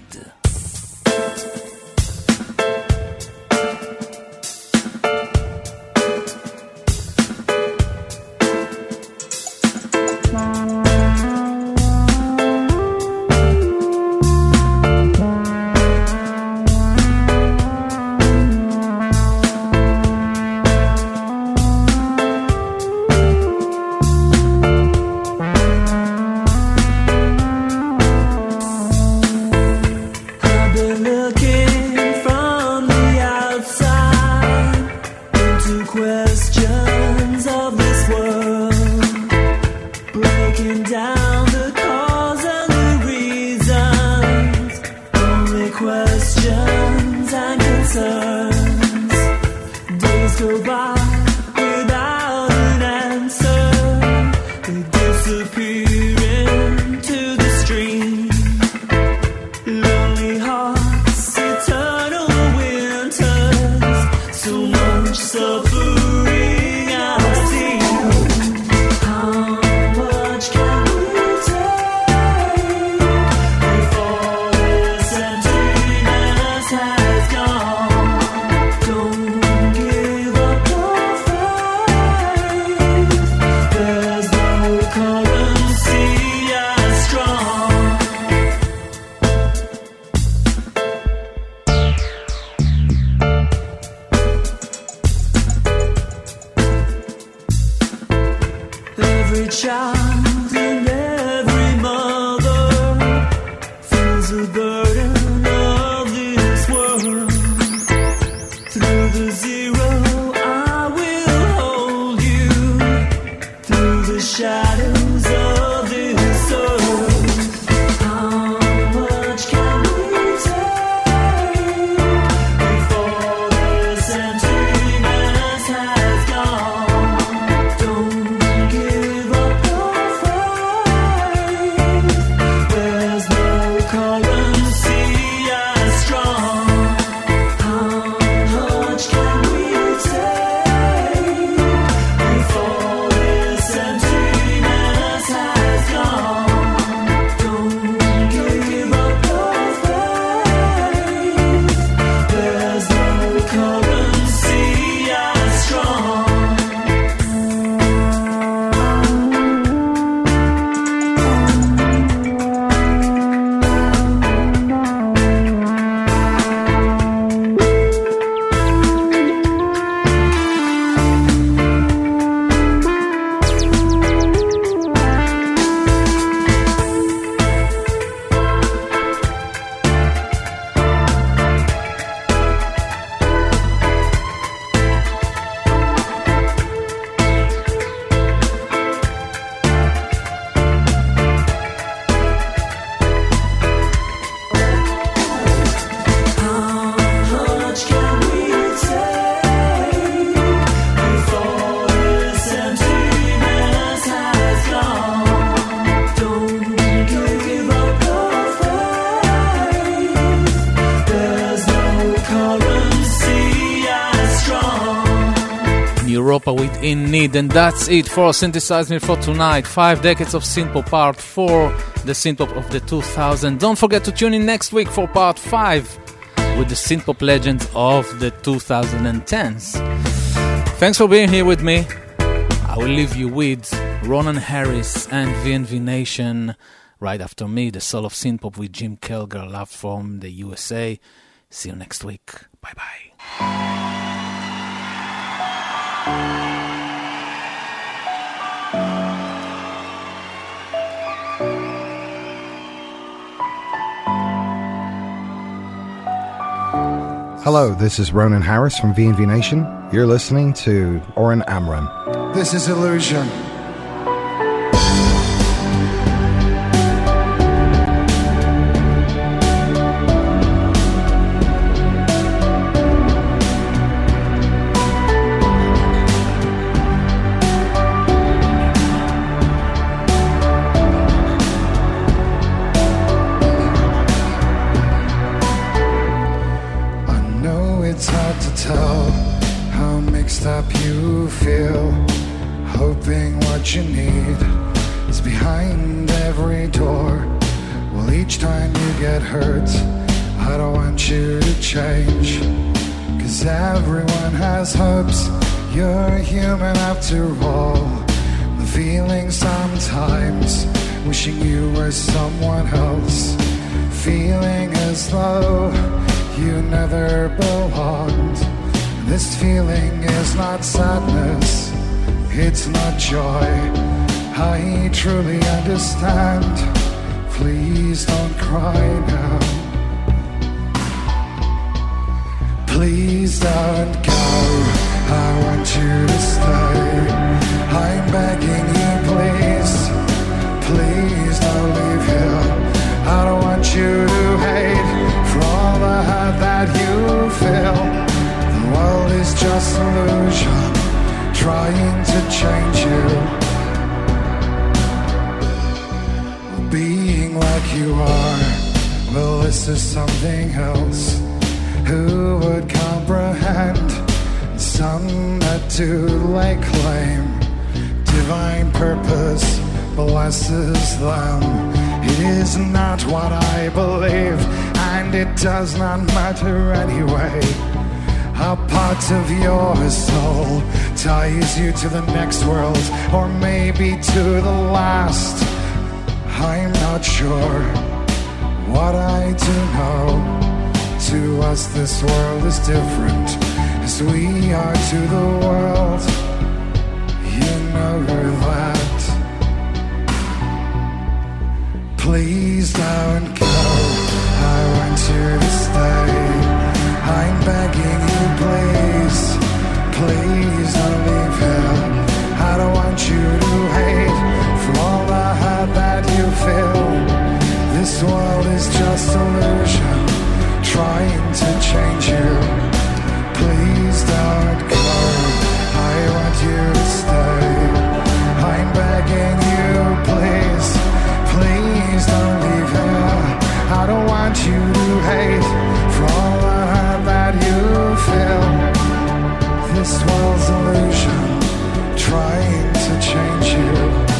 Don't give up your Europa with In Need. And that's it for Synthesize Me for tonight. 5 decades of synthpop part 4, the synthpop of the 2000s. Don't forget to tune in next week for part 5 with the synthpop legends of the 2010s. Thanks for being here with me. I will leave you with Ronan Harris and VNV Nation. Right after me, the soul of synthpop with Jim Kelger, loved from the USA. See you next week. Bye-bye. Hello, this is Ronan Harris from VNV Nation. You're listening to Oren Amram. This is Illusion. You need is behind every door. Well, each time you get hurt, I don't want you to change, 'cause everyone has hopes. You're human after all. The feeling sometimes wishing you were someone else, feeling as though you never belonged. This feeling is not sadness, it's not joy. I truly understand. Please don't cry now. Please don't go. I want you to stay. I'm begging you, please. Please don't leave here. I don't want you to hate for all the hurt that you feel. The world is just illusion, trying to change you. Being like you are, well, this is something else. Who would comprehend? Some that do lay claim divine purpose blesses them. It is not what I believe, and it does not matter anyway. A part of your soul ties you to the next world, or maybe to the last. I'm not sure. What I do know, to us this world is different, as we are to the world. You know that. Please don't go. I want you to stay. I'm begging you, please. Please don't leave here. I don't want you to hate for all the hurt that you feel. This world is just illusion, trying to change you. Please don't go. I want you to stay. I'm begging you, please. Please don't leave here. I don't want you to hate for all the hurt that you feel. This world's illusion, trying to change you.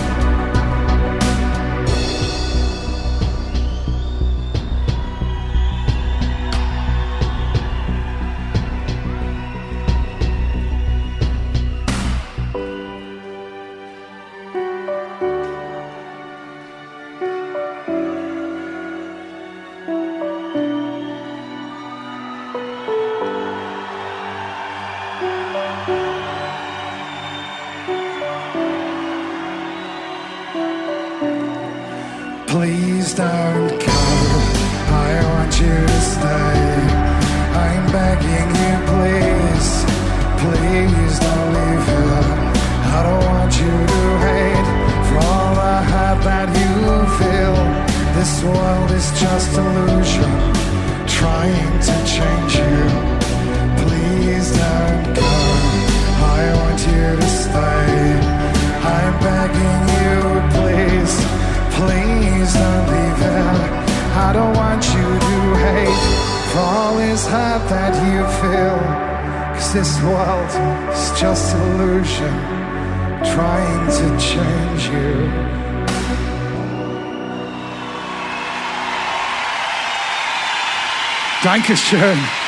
Please don't go. I want you to stay. I'm begging you, please. Please don't leave here. I don't want you to hate for all the hurt that you feel. This world is just illusion, trying to change you. Please don't go. I want you to stay. I'm begging you, please. Please don't leave here. I don't want you to hate for all this hurt that you feel. 'Cause this world is just illusion trying to change you. Dankeschön.